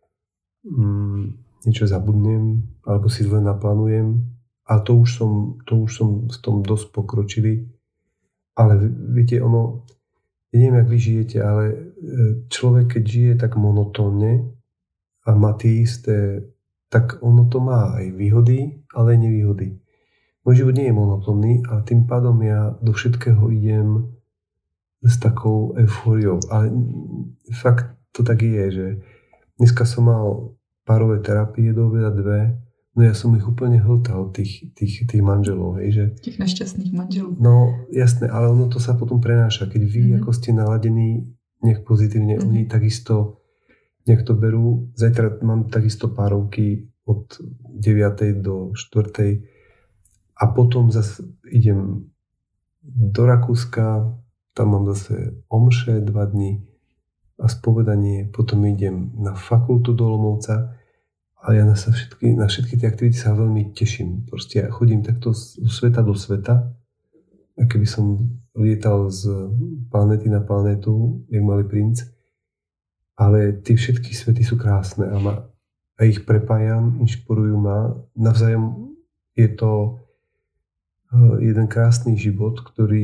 niečo zabudnem alebo si zle naplánujem a to už som v tom dosť pokročilý. Ale viete, ja neviem, jak vy žijete, ale človek, keď žije tak monotónne a má tie isté, tak ono to má aj výhody, ale aj nevýhody. Môj život nie je monotónny a tým pádom ja do všetkého idem s takou eufóriou. Ale fakt to tak je, že dneska som mal párové terapie do obeda 2. No ja som ich úplne hltal, tých manželov, hej, že... Těch nešťastných manželů. No, jasné, ale ono to sa potom prenáša. Keď vy ako ste naladení nejak pozitívne, oni takisto nejak to berú. Zajtra mám takisto párovky od 9. do 4. A potom zase idem do Rakúska, tam mám zase omše 2 dni a spovedanie, potom idem na fakultu do Olomouca a ja na všetky tie aktivity sa veľmi teším. Proste ja chodím takto z sveta do sveta, a keby som lietal z planéty na planétu, jak malý princ, ale tie všetky svety sú krásne a ich prepájam, inšpirujú ma. Navzájom je to jeden krásny život,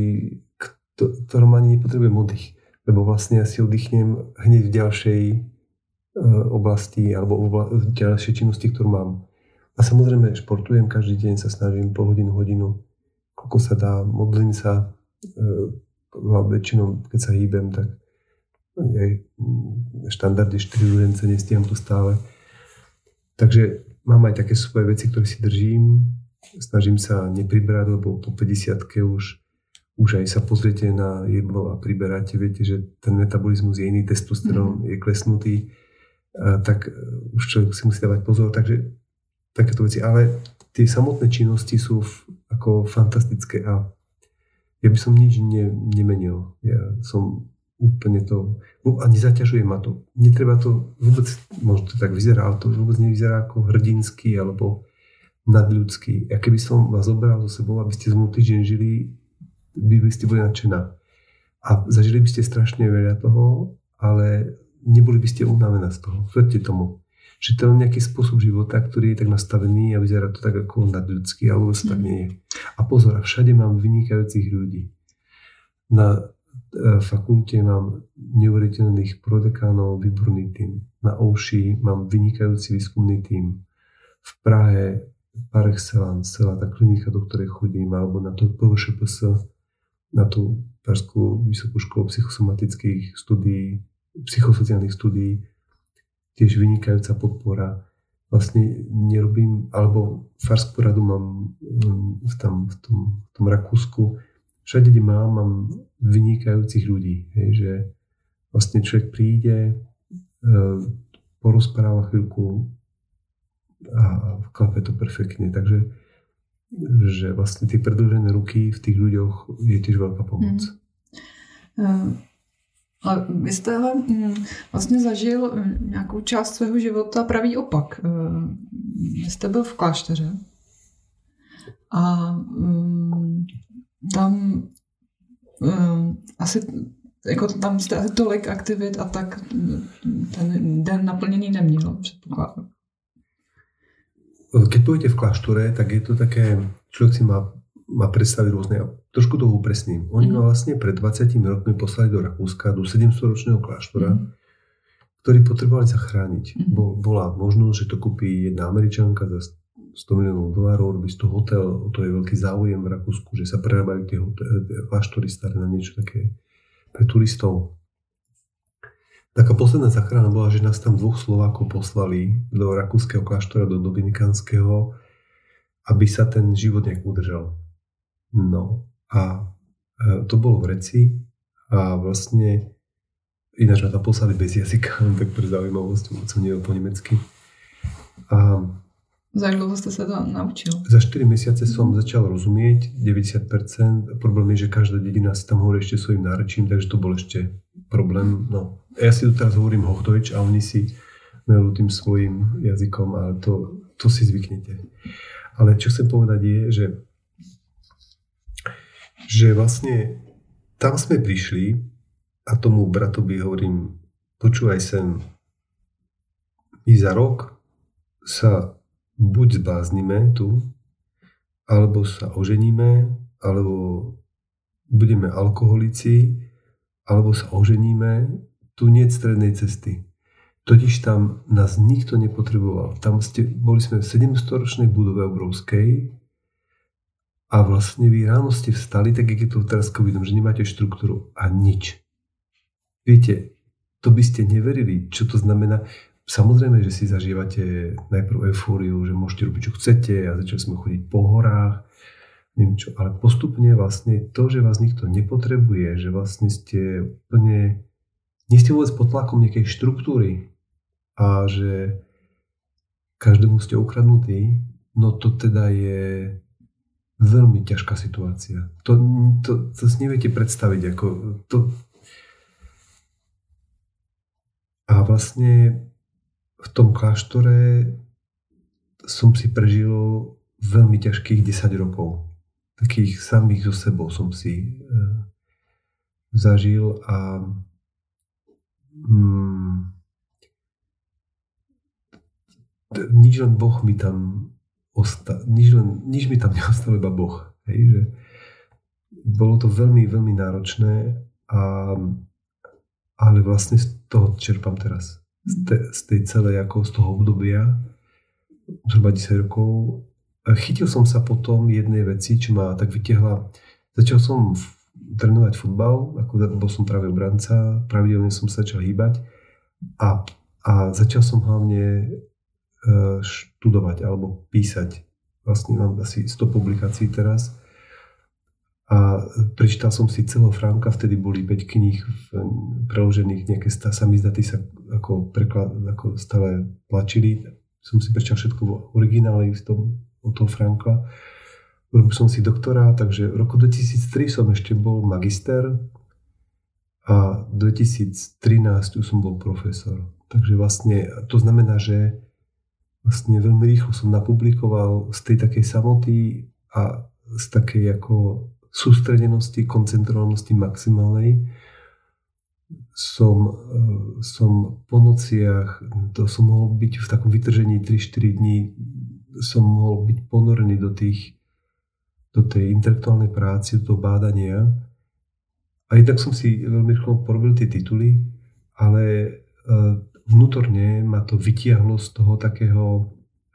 ktorom ani nepotrebujem oddych. Lebo vlastne ja si oddychnem hneď v ďalšej oblasti alebo v ďalšej činnosti, ktorú mám. A samozrejme športujem každý deň, sa snažím pol hodinu, koľko sa dá, modlím sa, väčšinou keď sa hýbem, tak aj štandardy 4 rúžence nestíham tu stále. Takže mám aj také svoje veci, ktoré si držím. Snažím sa nepriberať, lebo po 50-ke už aj sa pozriete na jedlo a priberáte, viete, že ten metabolizmus je iný, testosterón je klesnutý, tak už človek si musí dávať pozor. Takže takéto veci. Ale tie samotné činnosti sú ako fantastické a ja by som nič nemenil. Ja som úplne to... A nezaťažuje ma to. Netreba to vôbec, možno to tak vyzerá, ale to vôbec nevyzerá ako hrdinský alebo nadľudský. Ja keby som vás zobral so sebou, aby ste znovu týždeň žili, by ste boli nadšená. A zažili by ste strašne veľa toho, ale neboli by ste unavená z toho. Verte tomu. Že to je nejaký spôsob života, ktorý je tak nastavený a vyzerá to tak ako nadľudský, alebo sa tak nie je. A pozor, všade mám vynikajúcich ľudí. Na fakulte mám neuveriteľných prodekánov, výborný tím. Na Ouši mám vynikajúci výskumný tím. V Prahe par excellence, celá tá klinika, do ktorej chodím, alebo na to PVŠPS, na tú Pražskú vysokú školu psychosomatických studií, psychosociálnych studií, tiež vynikajúca podpora. Vlastne nerobím, alebo farskú radu mám v tom Rakúsku. Všade, kde mám vynikajúcich ľudí. Hej, že vlastne človek príde, porozpráva chvíľku a klape to perfektne. Takže že vlastne tie predĺžené ruky v tých ľuďoch je tiež veľká pomoc. Ale vy jste vlastně zažil nějakou část svého života pravý opak. Vy jste byl v klášteře a tam asi jako tam jste asi tolik aktivit a tak ten den naplněný neměl, předpokládám. Keď pôjdete v kláštore, tak je to také, človek si má predstaviť rôzne, trošku to upresním. Oni ma vlastne pred 20 rokmi poslali do Rakúska, do 700-ročného kláštora, ktorý potrebovali zachrániť. Bola možnosť, že to kúpi jedna Američanka za $100 miliónov, robí z toho hotel, o to je veľký záujem v Rakúsku, že sa prerábajú tie kláštory staré na niečo také pre turistov. Taká posledná záchrana bola, že nás tam 2 Slovákov poslali do rakúskeho kláštora, do dominikánskeho, aby sa ten život nejak udržal. No a to bolo v Reci a vlastne ináč ma tam poslali bez jazyka, tak pre zaujímavosť, som nevedel po nemecky. A za jak dlouho ste sa to naučil? Za 4 mesiace som začal rozumieť 90%. Problém je, že každá dedina si tam hovorí ešte svojím nárečím, takže to bol ešte problém. No. Ja si tu teraz hovorím Hochdeutsch a oni si majú tým svojím jazykom, ale to si zvyknete. Ale čo chcem povedať je, že vlastne tam sme prišli a tomu bratovi hovorím, počúvaj sem, my za rok sa buď zbláznime tu, alebo sa oženíme, alebo budeme alkoholici, alebo sa oženíme, tu nie je strednej cesty. Totiž tam nás nikto nepotreboval. Boli sme v 700-ročnej budove obrovskej a vlastne vy ráno ste vstali, tak je to teraz covidom, že nemáte štruktúru a nič. Viete, to by ste neverili, čo to znamená. samozrejme, že si zažívate najprv eufóriu, že môžete robiť, čo chcete a začali sme chodiť po horách, neviem čo, ale postupne vlastne to, že vás nikto nepotrebuje, že vlastne ste úplne, nie ste vôbec pod tlakom nejakej štruktúry a že každému ste ukradnutí, no to teda je veľmi ťažká situácia. To si neviete predstaviť, ako to. A vlastne v tom kláštore som si prežil veľmi ťažkých 10 rokov. Takých samých so sebou som si zažil a nič len Boh mi tam nič mi tam neostalo, iba Boh. Hej, že bolo to veľmi, veľmi náročné, ale vlastne z toho čerpám teraz. Z tej celej, ako z toho obdobia, zhruba 10 rokov. Chytil som sa potom jednej veci, čo ma tak vytiahla. Začal som trénovať futbal, ako bol som práve obranca, pravidelne som sa začal hýbať a začal som hlavne študovať alebo písať. Vlastne mám asi 100 publikácií teraz a prečítal som si celého Franka, vtedy boli 5 kníh preložených, nejaké samizdaty sa ako stále tlačili. Som si prečítal všetko v originále od toho Franka. Robil som si doktora, takže v roku 2003 som ešte bol magister a 2013 už som bol profesor. Takže vlastne to znamená, že vlastne veľmi rýchlo som napublikoval z tej takej samoty a z takej ako sústredenosti, koncentrovanosti maximálnej. Som po nociach, to som mohol byť v takom vytržení 3-4 dní, som mohol byť ponorený do tej intelektuálnej práce, do toho bádania. A jednak som si veľmi rýchlo porobil tie tituly, ale vnútorne ma to vytiahlo z toho takého,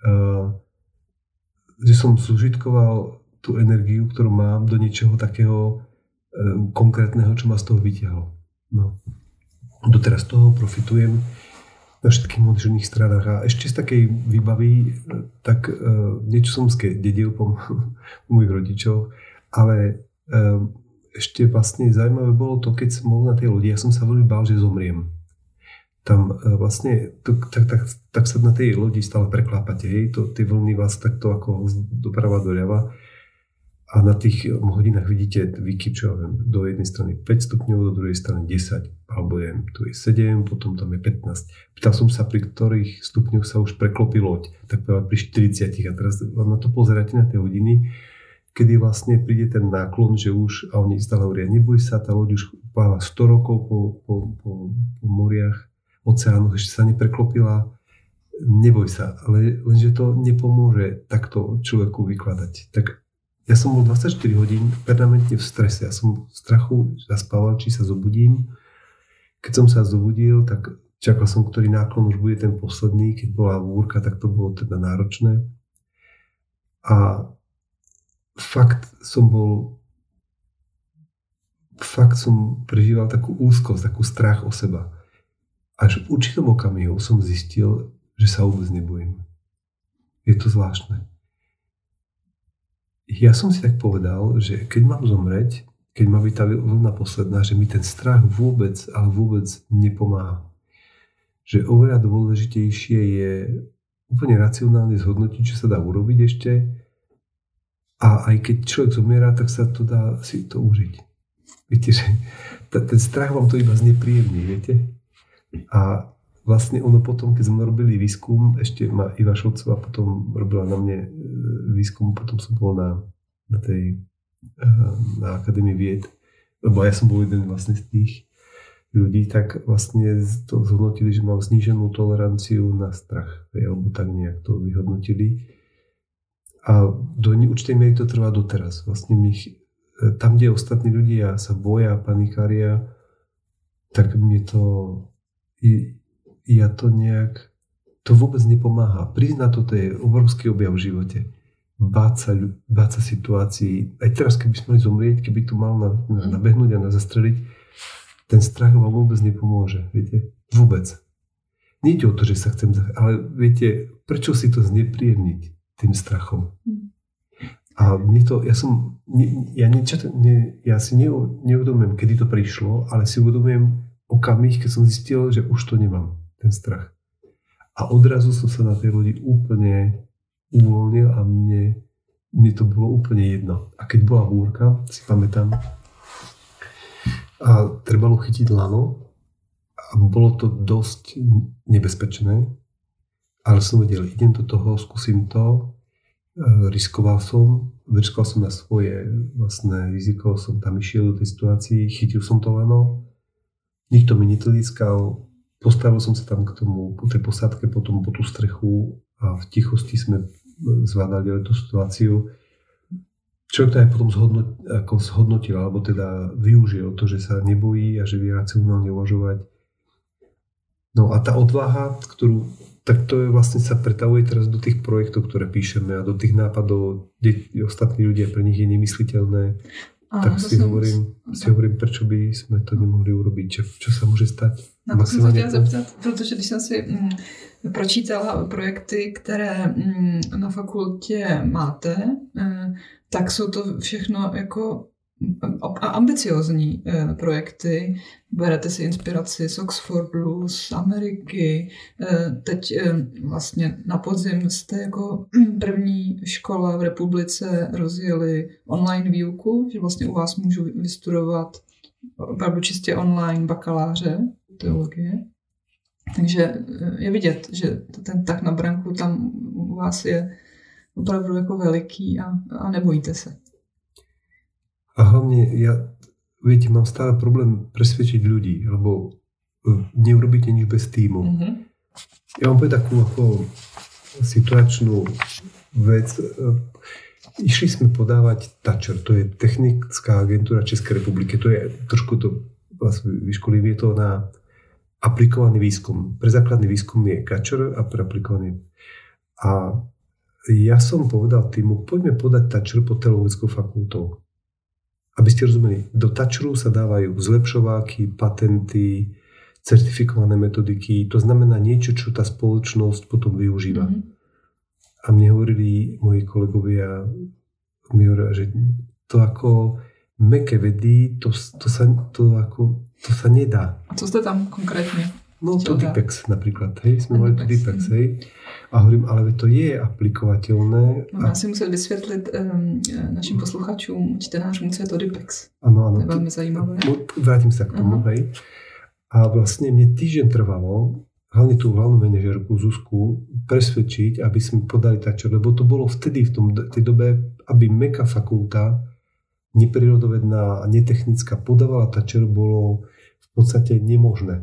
že som zužitkoval tú energiu, ktorú mám, do niečoho takého konkrétneho, čo ma z toho vytiahlo. No. Doteraz z toho profitujem na všetkých možných stranách. A ešte z takej výbavy, tak niečo som dedil po mojich rodičov, ale ešte vlastne zaujímavé bolo to, keď som bol na tej lodi, ja som sa veľmi bál, že zomriem. Tam vlastne, tak sa na tej lodi stále preklápate, hej, tie vlny vás takto ako doprava doľava a na tých hodinách vidíte výkyv, čo ja viem, do jednej strany 5 stupňov, do druhej strany 10, alebo tu je 7, potom tam je 15. Pýtal som sa, pri ktorých stupňoch sa už preklopí loď, tak pri 40 a teraz na to pozeráte na tie hodiny, kedy vlastne príde ten náklon, že už, a oni stále hovoria, neboj sa, tá loď už pláva 100 rokov po moriach, oceánoch, ešte sa nepreklopila, neboj sa, ale lenže to nepomôže takto človeku vykladať. Tak ja som bol 24 hodín permanentne v strese, ja som v strachu zaspával, či sa zobudím. Keď som sa zobudil, tak čakal som, ktorý náklon už bude ten posledný, keď bola búrka, tak to bolo teda náročné. A fakt som prežíval takú úzkosť, takú strach o seba. Až v určitom okamihu som zistil, že sa vôbec nebojím. Je to zvláštne. Ja som si tak povedal, že keď mám zomreť, keď má byť tá vlna posledná, že mi ten strach vôbec, ale vôbec nepomáha. Že oveľa dôležitejšie je úplne racionálne zhodnotiť, čo sa dá urobiť ešte. A aj keď človek zomiera, tak sa to dá si to užiť. Viete, že ten strach vám to iba znepríjemní, viete? A vlastne ono potom, keď sme robili výskum, ešte ma Iva Šolcová potom robila na mne výskum, potom som bol na Akadémii vied, lebo ja som bol jeden vlastne z tých ľudí, tak vlastne to zhodnotili, že mám zníženú toleranciu na strach, alebo tak nejak to vyhodnotili. A do určitej miery to trvá doteraz. Vlastne tam, kde ostatní ľudia sa boja, panikária, tak mne to to vôbec nepomáha. Priznať to je obrovský objav v živote. Báť sa situácií. Aj teraz, keby sme mali zomrieť, keby tu mal nabehnúť a zastreliť, ten strach vám vôbec nepomôže. Viete? Vôbec. nejde o to, že sa chcem ale viete, prečo si to znepríjemniť tým strachom? A mne to, ja si neuvedomujem, kedy to prišlo, ale si uvedomujem okamih, keď som zistil, že už to nemám, ten strach. A odrazu som sa na tej lodi úplne uvoľnil a mne to bolo úplne jedno. A keď bola búrka, si pamätám, a trebalo chytiť lano a bolo to dosť nebezpečné, ale som vedel, idem do toho, skúsim to, riskoval som na svoje vlastné riziko, som tam išiel do tej situácii, chytil som to lano, nikto mi netlískal, postavil som sa tam k tomu, po tej posádke, potom po tú strechu a v tichosti sme zvládali tú situáciu. Človek to aj potom zhodnotil, alebo teda využil to, že sa nebojí a že vie racionálne uvažovať. No a tá odvaha, tak to je vlastne sa pretavuje teraz do tých projektov, ktoré píšeme a do tých nápadov, kde ostatní ľudia, pre nich je nemysliteľné. Tak si hovorím, prečo by sme to nemohli urobiť, čo sa může stát. Na to jsem se chtěla zeptat, protože když jsem si pročítala projekty, které na fakultě máte, tak jsou to všechno jako ambiciozní projekty. Berete si inspiraci z Oxfordu, z Ameriky. Teď vlastně na podzim jste jako první škola v republice rozjeli online výuku, že vlastně u vás můžu vystudovat opravdu čistě online bakaláře teologie. Takže je vidět, že ten tak na branku tam u vás je opravdu jako veliký a nebojíte se. A hlavne viete, mám stále problém presvedčiť ľudí, lebo neurobíte nič bez týmu. Mm-hmm. Ja vám poviem takú ako situačnú vec. Išli sme podávať Thatcher, to je technická agentúra Českej republiky. To je trošku to vlastne vyškolím, je to na aplikovaný výskum. Pre základný výskum je Thatcher a pre aplikovaný. A ja som povedal týmu, poďme podať Thatcher pod teologickou fakultou. Aby ste rozumeli, do Thatcheru sa dávajú zlepšováky, patenty, certifikované metodiky. To znamená niečo, čo tá spoločnosť potom využíva. Mm-hmm. A mne hovorili moji kolegovia, že to ako mäkké vedy, to sa nedá. A co ste tam konkrétne? No to Dipex napríklad, hej, sme mali to Dipex, hej. A hovorím, ale to je aplikovateľné. Mám si musieť vysvetliť našim posluchačům, čtenářům, co je to Dipex. Áno. To je veľmi zajímavé. Vrátim sa k tomu, hej. A vlastne mne týždeň trvalo, hlavne tú hlavnú manažérku Zuzku, presvedčiť, aby sme podali Thatcher, lebo to bolo vtedy, tej dobe, aby mäkká fakulta, neprírodovedná a netechnická, podávala Thatcher, bolo v podstate nemožné.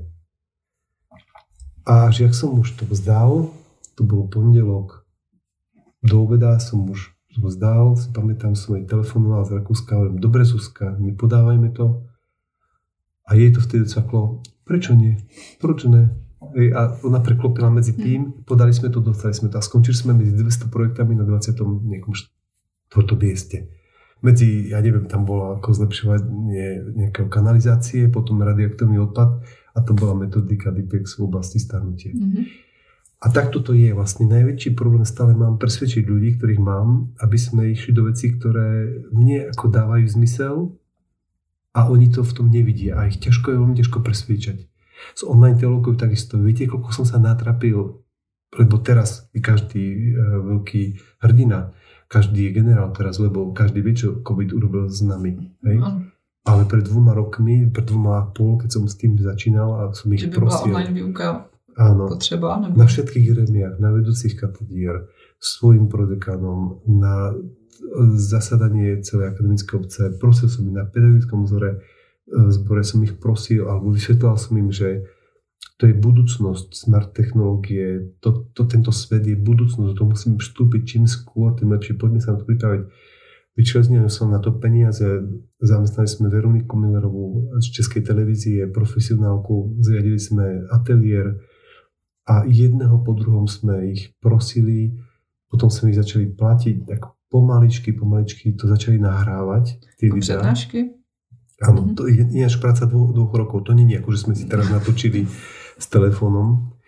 A až jak som už to vzdal, to bol pondelok, do obeda som už to vzdal, si pamätám, som jej telefonoval z Rakúska, hovorím, dobre Zuzka, nepodávajme to. A jej to vtedy cvaklo, prečo nie? Proč ne? A ona preklopila medzi tým, podali sme to, dostali sme to a skončili sme medzi 200 projektami na 20. nejakom 4. mieste. Medzi, ja neviem, tam bolo ako zlepšovanie nejakého kanalizácie, potom radioaktívny odpad a to bola metodika Dipex v oblasti starnutia. Mm-hmm. A takto to je vlastne najväčší problém, stále mám presvedčiť ľudí, ktorých mám, aby sme išli do vecí, ktoré mne ako dávajú zmysel a oni to v tom nevidia a ich je veľmi ťažko presvedčať. S online teológov takisto. Viete, koľko som sa natrapil, lebo teraz je každý veľký hrdina, každý je generál teraz, lebo každý vie, čo COVID urobil s nami. Hej? Ale pred 2 rokmi, pred 2,5, keď som s tým začínal a som ich prosil. Že by bola online výuka potreba? Nebo... Na všetkých gremiách, na vedúcich katedír, svojim prodekanom, na zasadanie celej akademické obce, prosil som ich na pedagogickom zbore som ich prosil, alebo vysvetlal som im, že to je budúcnosť smart technológie, tento svet je budúcnosť, to musíme vstúpiť čím skôr, tým lepšie, poďme sa na to pripraviť. Vyčlenil som na to peniaze, zamestnali sme Veroniku Millerovú z Českej televízie, profesionálku, zriadili sme ateliér a jedného po druhom sme ich prosili, potom sme ich začali platiť, tak pomaličky to začali nahrávať. Tie videá. Přednášky? Áno, to je ináč práca 2 rokov, to nie je ako, že sme si teraz natočili s telefónom.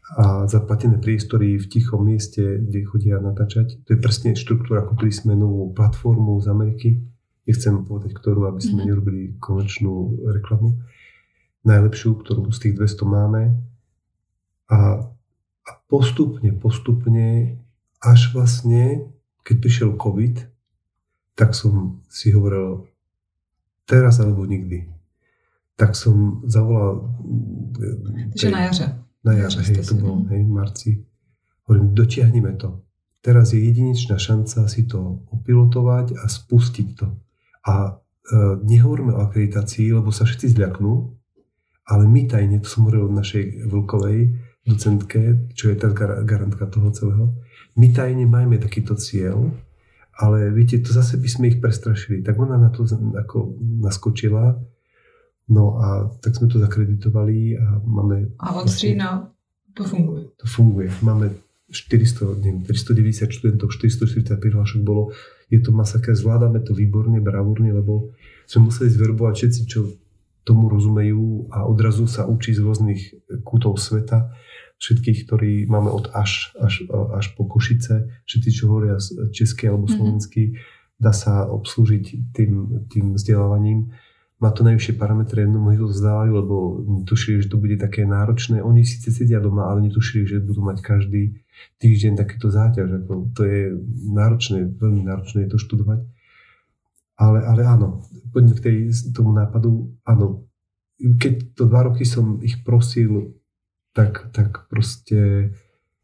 a zaplatené priestory v tichom mieste, kde chodia natáčať. To je presne štruktúra, kúpili sme novú platformu z Ameriky. Nechcem povedať, ktorú, aby sme nerobili komerčnú reklamu. Najlepšiu, ktorú z tých 200 máme. A postupne, až vlastne, keď prišiel COVID, tak som si hovoril, teraz alebo nikdy. Tak som zavolal... Takže na jaře. Na jaře, to bolo, v marci. Hovorím, dotiahneme to. Teraz je jedinečná šanca si to opilotovať a spustiť to. A nehovoríme o akreditácii, lebo sa všetci zľaknú, ale my tajne, to som hovoril od našej Vlkovej docentke, čo je tá garantka toho celého, my tajne máme takýto cieľ, ale viete, to zase by sme ich prestrašili. Tak ona na to ako naskočila, no a tak sme to zakreditovali a máme... A od října to funguje. To funguje. Máme 390 študentov, 440 prihlášok bolo. Je to masaker, zvládame to výborne, bravúrne, lebo sme museli zverbovať všetci, čo tomu rozumejú a odrazu sa učí z rôznych kútov sveta. Všetkých, ktorí máme od až po Košice, všetci, čo hovoria česky alebo slovensky, dá sa obslúžiť tým vzdelávaním. Má to najvyššie parametre, mnohí to vzdávajú, lebo netušili, že to bude také náročné. Oni síce sedia doma, ale netušili, že budú mať každý týždeň takéto záťaž. To je náročné, veľmi náročné je to študovať. Ale áno, poďme k tomu nápadu. Áno, keď to 2 roky som ich prosil, tak proste...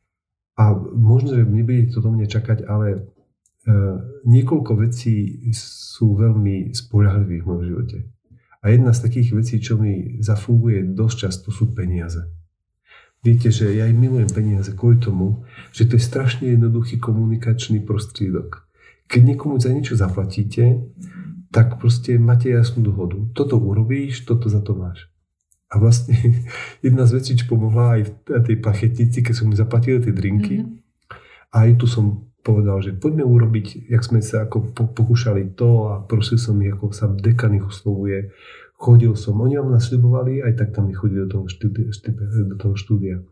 A možno, že nebudete to do mňa čakať, ale niekoľko vecí sú veľmi spoľahlivých v mojom živote. A jedna z takých vecí, čo mi zafunguje dosť často, sú peniaze. Viete, že ja aj milujem peniaze kvôli tomu, že to je strašne jednoduchý komunikačný prostriedok. Keď niekomu za niečo zaplatíte, tak proste máte jasnú dohodu. Toto urobíš, toto za to máš. A vlastne jedna z vecí, čo pomohla aj v tej plachetnici, keď som mi zaplatili tie drinky, a aj tu som povedal, že poďme urobiť, jak sme sa ako pokúšali to a prosil som ich, ako sa dekan ich oslovuje. Chodil som, oni vám nasľubovali, aj tak tam nechodili do toho štúdia.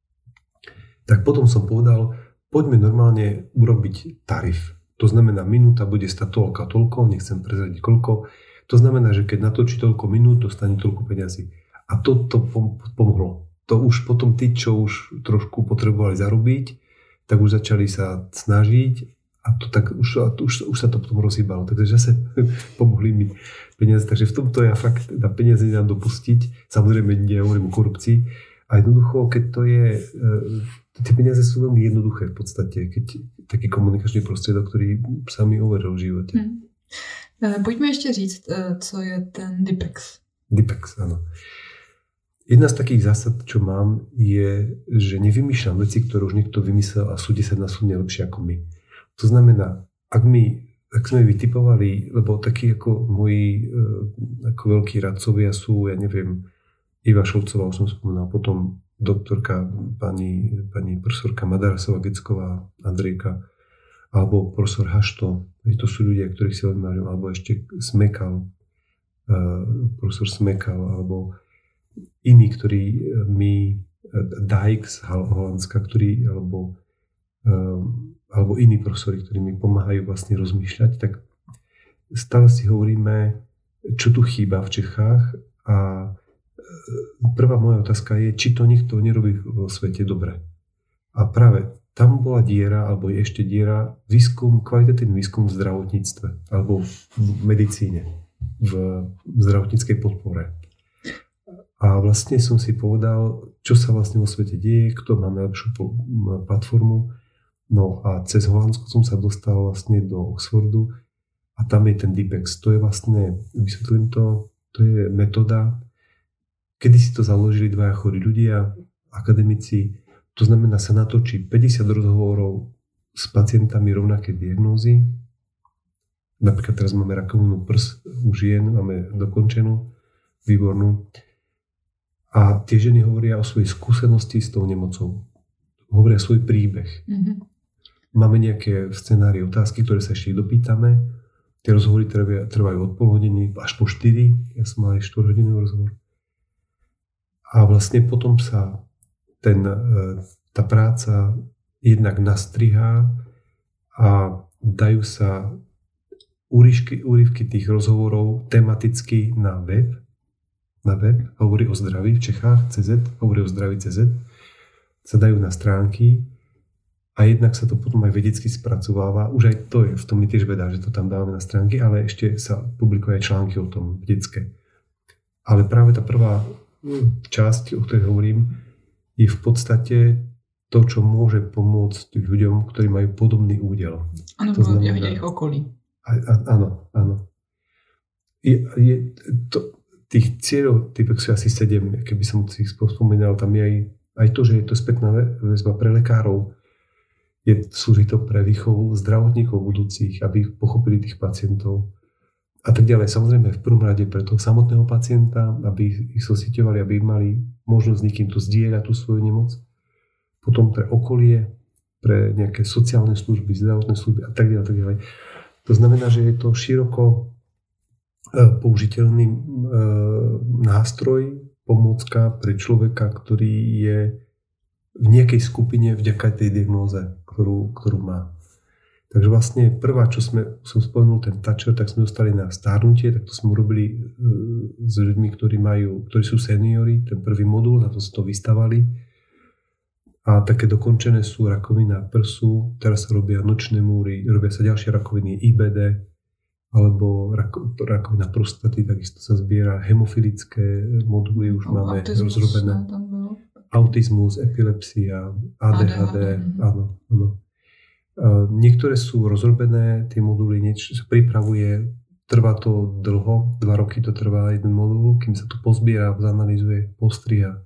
Tak potom som povedal, poďme normálne urobiť tarif. To znamená, minúta bude stať toľko a toľko, nechcem prezradiť koľko. To znamená, že keď natočí toľko minút, dostane toľko peňazí. A to pomohlo. To už potom tí, čo už trošku potrebovali zarobiť, tak už začali sa snažiť a to tak už sa to potom rozhýbalo. Takže zase pomohli mi peniaze. Takže v tomto ja fakt na peniaze nedám dopustiť. Samozrejme, nehovorím o korupcii. A jednoducho, keď to je... Tie peniaze sú veľmi jednoduché v podstate, keď taký komunikačný prostriedok, ktorý sa mi overil v živote. Pojďme ještě říct, co je ten DIPEX. DIPEX, áno. Jedna z takých zásad, čo mám, je, že nevymýšľam veci, ktoré už niekto vymyslel a sú 10-násobne lepšie ako my. To znamená, ak sme vytipovali, lebo takí ako moji ako veľkí radcovia sú, ja neviem, Iva Šolcová, už som spomínal, potom doktorka, pani profesorka Madarasová-Gecková, Andrejka, alebo profesor Hašto, to sú ľudia, ktorých si veľmi vážim, alebo ešte Smekal, profesor Smekal, alebo iní, ktorí Dijk z Holandska, alebo iní profesori, ktorí mi pomáhajú vlastne rozmýšľať, tak stále si hovoríme, čo tu chýba v Čechách a prvá moja otázka je, či to niekto nerobí vo svete dobre. A práve tam bola diera, alebo je ešte diera, kvalitatívny výskum v zdravotníctve, alebo v medicíne, v zdravotníckej podpore. A vlastne som si povedal, čo sa vlastne vo svete deje, kto má najlepšiu platformu. No a cez Holandsko som sa dostal vlastne do Oxfordu a tam je ten DIPEX. To je vlastne, vysvetlím to je metóda, kedy si to založili dvaja chorí ľudia, akademici. To znamená, sa natočí 50 rozhovorov s pacientami rovnaké diagnózy. Napríklad teraz máme rakovinu prs u žien, máme dokončenú, výbornú. A tie ženy hovoria o svojej skúsenosti s tou nemocou. Hovoria svoj príbeh. Mm-hmm. Máme nejaké scenárie, otázky, ktoré sa ešte dopýtame. Tie rozhovory trvajú od pol hodiny až po 4. Ja som mal aj 4-hodinový rozhovor. A vlastne potom sa tá práca jednak nastrihá a dajú sa úryvky tých rozhovorov tematicky na web, hovorí o zdraví v Čechách, hovorí o zdraví CZ, sa dajú na stránky a jednak sa to potom aj vedecky spracováva. Už aj to je, v tom mi tiež veda, že to tam dávame na stránky, ale ešte sa publikujú aj články o tom vedecké. Ale práve tá prvá časť, o ktorej hovorím, je v podstate to, čo môže pomôcť ľuďom, ktorí majú podobný údel. Áno, to znamená, ja vidia ich okolí. Áno. Tých cieľov, typek sú asi 7, keby som si ich spomínal, tam je aj to, že je to spätná väzba pre lekárov, slúži to pre výchovu zdravotníkov budúcich, aby pochopili tých pacientov a tak ďalej. Samozrejme v prvom rade pre toho samotného pacienta, aby ich sosieťovali, aby mali možnosť s niekým to zdieľať tú svoju nemoc. Potom pre okolie, pre nejaké sociálne služby, zdravotné služby a tak ďalej. To znamená, že je to široko použiteľný nástroj, pomôcka pre človeka, ktorý je v nejakej skupine vďaka tej diagnóze, ktorú má. Takže vlastne prvá, čo som spomenul, ten Thatcher, tak sme dostali na stárnutie, tak to sme urobili s ľuďmi, ktorí sú seniori, ten prvý modul, na to sa to vystavali. A také dokončené sú rakovina prsu, teraz sa robia nočné múry, robia sa ďalšie rakoviny IBD, alebo rakovina prostaty, takisto sa zbiera, hemofilické moduly už máme rozrobené. Autizmus, epilepsia, ADHD, áno. Niektoré sú rozrobené, tie moduly, niečo sa pripravuje, trvá to dlho, 2 roky to trvá jeden modul, kým sa to pozbiera, zanalizuje, postriha.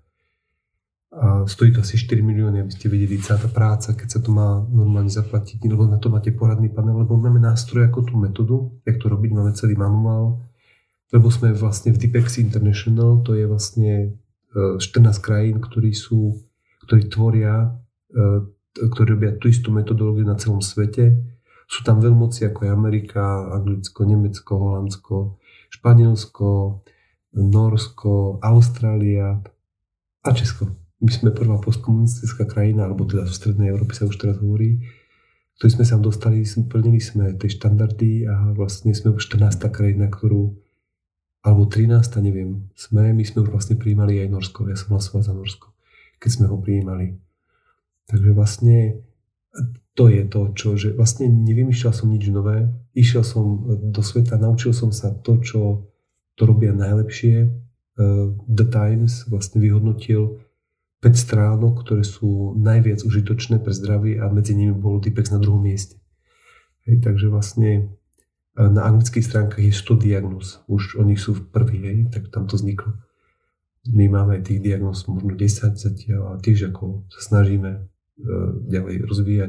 A stojí to asi 4 milióny, aby ste vedeli celá tá práca, keď sa to má normálne zaplatiť, lebo na to máte poradný panel, lebo máme nástroj ako tú metódu, jak to robiť, máme celý manuál, lebo sme vlastne v Dipex International, to je vlastne 14 krajín, ktorí tvoria, ktorí robia tú istú metodológiu na celom svete. Sú tam veľmoci ako je Amerika, Anglicko, Nemecko, Holandsko, Španielsko, Norsko, Austrália a Česko. My sme prvá postkomunistická krajina, alebo teda v Strednej Európe sa už teraz hovorí, ktorí sme sa dostali, plnili sme tie štandardy a vlastne sme už 14. krajina, alebo 13. neviem, my sme už vlastne prijímali aj Norsko. Ja som hlasoval za Norsko, keď sme ho prijímali. Takže vlastne to je to, že vlastne nevymýšľal som nič nové, išiel som do sveta, naučil som sa to, čo to robia najlepšie. The Times vlastne vyhodnotil 5 stránok, ktoré sú najviac užitočné pre zdravie a medzi nimi bol Dipex na 2. mieste. Takže vlastne na anglických stránkach je 100 diagnóz. Už oni sú v prvý, tak tam to vzniklo. My máme tých diagnóz možno 10 zatiaľ a tiež ako sa snažíme ďalej rozvíjať.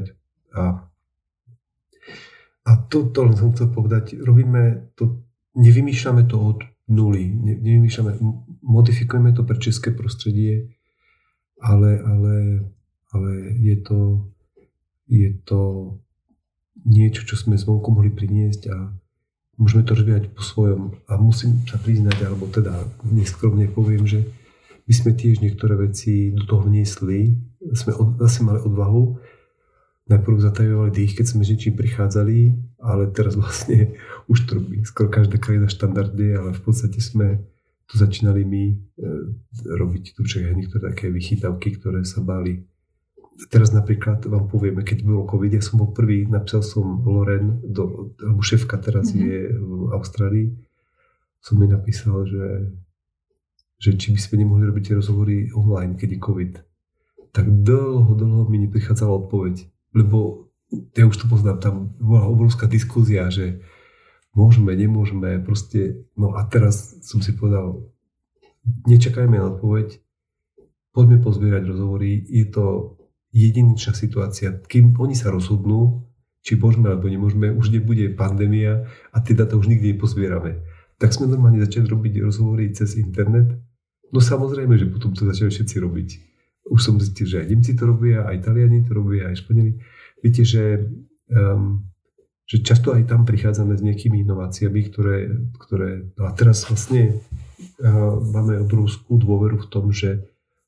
A to len som chcel povedať, nevymýšľame to od nuly, modifikujeme to pre české prostredie, ale je to niečo, čo sme zvonku mohli priniesť a môžeme to rozvíjať po svojom. A musím sa priznať, alebo teda neskromne poviem, že my sme tiež niektoré veci do toho vniesli. Sme zase mali odvahu. Najprv zatajovali dých, keď sme s niečím prichádzali, ale teraz vlastne už to robí skoro každá krajina štandardy, ale v podstate sme to začínali my robiť tu niektoré také vychytávky, ktoré sa báli. Teraz napríklad vám povieme, keď bolo COVID, ja som bol prvý, napísal som Loren, alebo šéfka teraz je v Austrálii, som mi napísal, že či by sme nemohli robiť tie rozhovory online, keď je COVID. Tak dlho mi neprichádzala odpoveď, lebo ja už to poznám, tam bola obrovská diskúzia, že môžeme, nemôžeme, proste, no a teraz som si povedal, nečakajme na odpoveď, poďme pozbierať rozhovory, je to jedinečná situácia, kým oni sa rozhodnú, či môžeme alebo nemôžeme, už nebude pandémia a tie dáta už nikdy nepozbierame. Tak sme normálne začali robiť rozhovory cez internet, no samozrejme, že potom to začali všetci robiť. Už som zistil, že aj Nemci to robia, aj Taliani to robia, aj Španieli. Viete, že často aj tam prichádzame s nejakými inováciami, ktoré no a teraz vlastne máme obrovskú dôveru v tom, že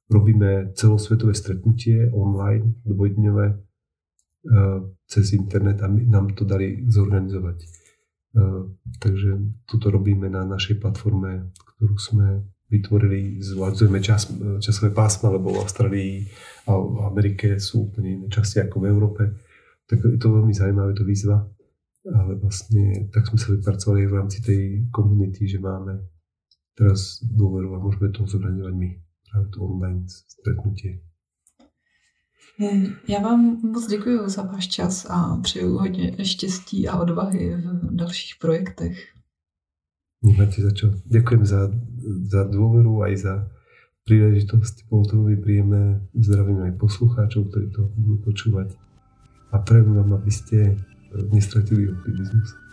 robíme celosvetové stretnutie online, dvojdňové, cez internet a nám to dali zorganizovať. Takže toto robíme na našej platforme, ktorú sme vytvorili, zvádzujeme časové pásma, lebo v Austrálii a v Amerike sú úplne iné časti ako v Európe. Tak je to veľmi zaujímavé, to výzva. Ale vlastne tak sme sa vypracovali v rámci tej komunity, že máme teraz dôveru a môžeme to zorganizovať my. Práve to online stretnutie. Já vám moc děkuji za váš čas a přeju hodně štěstí a odvahy v dalších projektech. Nemáte za čo. Ďakujem za dôveru aj za príležitosť. Bolo to veľmi príjemné. Zdravím aj poslucháčov, ktorí to budú počúvať. A prajem vám, aby ste nestratili optimizmus.